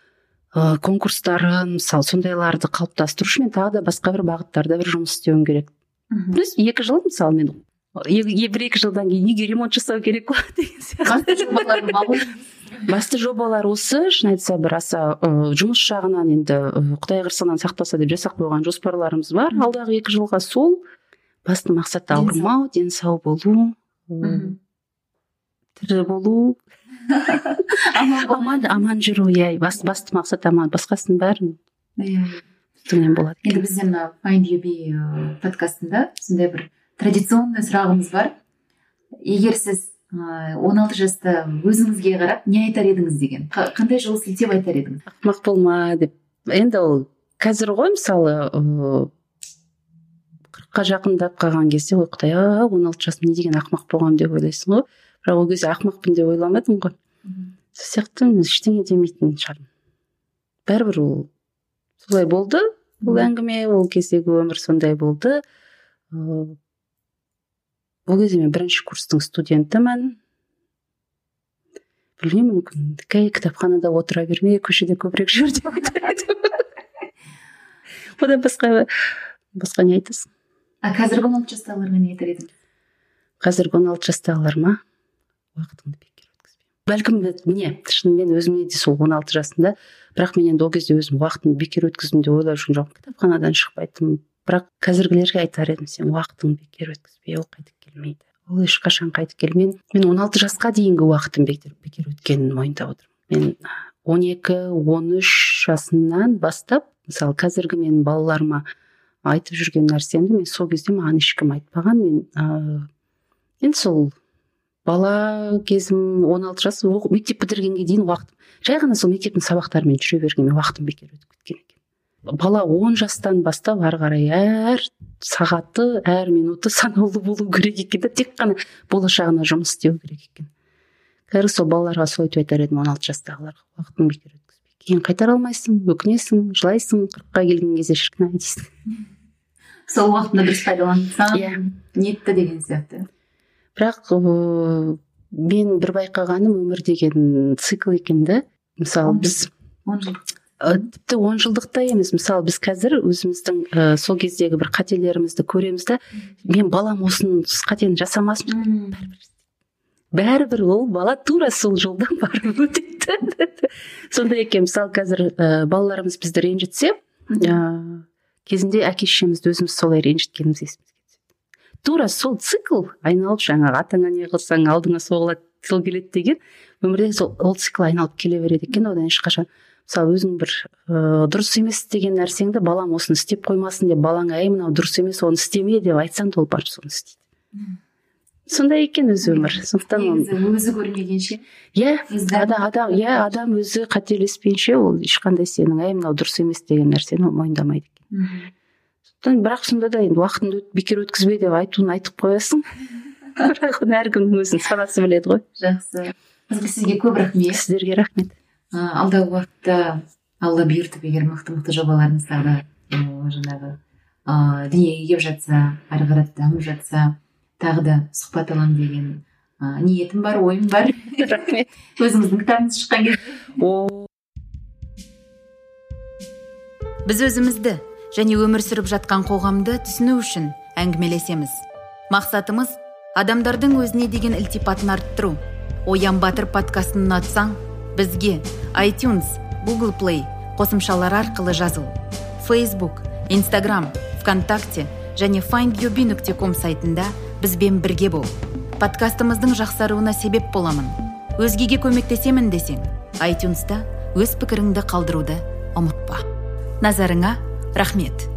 ә, конкурстарын, мысалы сондайларды қалыптастыру үшін мен тағы да басқа бір бағыттарда бір жұмыс істеуім керек. Плюс екі жыл мысалы мен бір екі жылдан кейін неге ремонт жасау керек болады деген сияқты. Басты жобалар осы, шын айтса бір аса ә, жұмыс жағынан енді Құдай қырсығынан сақтаса деп жасап қойған жоспарларымыз бар. Алдағы екі жылға сол басты мақсат ауырмау, денсау болу, тірі болу, аман аман жүру. Иә, басты мақсат аман, басқасының бәрін түгінен болады. Енді бізде мына Find You Be подкастында сондай бір традиционный сұрағымыз бар. Егер сіз он алты жаста өзіңізге қарап не айтар едіңіз деген, қандай жол сілтеп айтар едіңіз? Ақымақ болма деп. Енді ол қазір ғой мысалы қырыққа жақындап қалған кезде, ой Құдай, он алты жасым не деген ақымақ болғанмын деп ойлайсың ғой. Бірақ ол кезде ақымақпын деп ойламадым ғой. Сол сияқты ештеңе демейтін шығармын. Бәрібір ол солай болды, бұл әңгіме, ол кездегі өмір сондай болды. Ол кезде мен бірінші курстың студентімін. Білмеймін, мүмкін кәй кітапханада отыра берме, көшеде көбірек жүр деп айтар едім. Одан басқа басқа не айтасың? А қазіргі он алты жастағыларға не айтар едіңіз? Қазіргі он алты жастағылар ма? Уақытыңды бекер өткізбе. Бәлкім міне, шынымен өзіме де сол он алты жасында, бірақ мен енді ол кезде өзім уақытымды бекер өткіздім деп ойлап жүрген жоқпын. Кітапханадан шықпайтынмын. бірақ қазіргілерге айтар едім, сен уақытыңды бекер өткізбе, ол қайтып келмейді, ол ешқашан қайтып келмейді. Мен он алты жасқа дейінгі уақытым бекер, бекер өткенін мойындап отырмын. Мен он екі он үш жасымнан бастап, мысалы қазіргі менің балаларыма айтып жүрген нәрсемді мен сол кезде маған ешкім айтпаған. Мен ә, енді сол бала кезім он алты жас, мектеп бітіргенге дейін уақытым, жай ғана сол мектептің сабақтарымен жүре бергенмен уақытым бекер өтіп кеткен екен. Бала он жастан бастап ары қарай әр сағаты, әр минуты санаулы болу керек екен, тек қана болашағына жұмыс істеу керек екен. Қазір сол балаларға солай айтып айтар едім, он алты жастағыларға уақытың бекер өткізбе. Кейін қайтара алмайсың, өкінесің, жылайсың, қырыққа келген кезде шіркін ай дейсің. Сол уақытында дұрыс пайдалансаң, yeah. Нетті деген сияқты. Бірақ ә, мен бір байқағаным, өмір деген цикл екенді. Мысалы біз он жыл тіпті он жылдықта емес, мысалы біз қазір өзіміздің ә, сол кездегі бір қателерімізді көреміз да, мен балам осының қатені жасамасын, бәрібір бәрібір ол бала тура сол жолдан барып өтеді. Сондай екен, мысалы қазір ә, балаларымыз бізді ренжітсе, ә, кезінде әке шешемізді өзіміз солай ренжіткеніміз есімізге түседі. Тура сол цикл айналып, жаңағы атаңа не қылсаң алдыңа соғылады, сол келеді деген, өмірде сол ол цикл айналып келе береді екен. Одан ешқашан, мысалы өзің бір ә, дұрыс емес деген нәрсеңді балам осыны істеп қоймасын деп балаңа, әй мынау дұрыс емес, оны істеме деп айтсаң да ол барып соны істейді. Сондай екен өз өмір. Сондықтан өзі көрмегенше, иә, адам адам иә адам өзі қателеспейінше ол ешқандай сенің әй мынау дұрыс емес деген нәрсені ол мойындамайды екен. Сондықтан бірақ сонда да енді уақытыңды бекер өткізбе деп айтуын айтып қоясың. Бірақ оны әркімнің өзінің санасы біледі ғой. Жақсы. Сізге көп рахмет. Сіздерге рахмет. Алдағы уақытта Алла бұйыртып, егер мықты-мықты жобаларыңыздағы жаңағы дүниеге келіп жатса, ары қарай дамып жатса, тағы да сұхбат аламын деген ниетім бар, ойым бар. Рахмет. Өзіңіздің кітабыңыз шыққан кезде. Біз өзімізді және өмір сүріп жатқан қоғамды түсіну үшін әңгімелесеміз. Мақсатымыз адамдардың өзіне деген ілтипатын арттыру. Оян Батыр подкастын ұнатсаң, бізге iTunes, Google Play қосымшалары арқылы жазыл. Facebook, Instagram, ВКонтакте және файнд ю би нүкте ком сайтында бізбен бірге бол. Подкастымыздың жақсаруына себеп боламын. Өзгеге көмектесемін десең, iTunes'та өз пікіріңді қалдыруды ұмытпа. Назарыңа рахмет.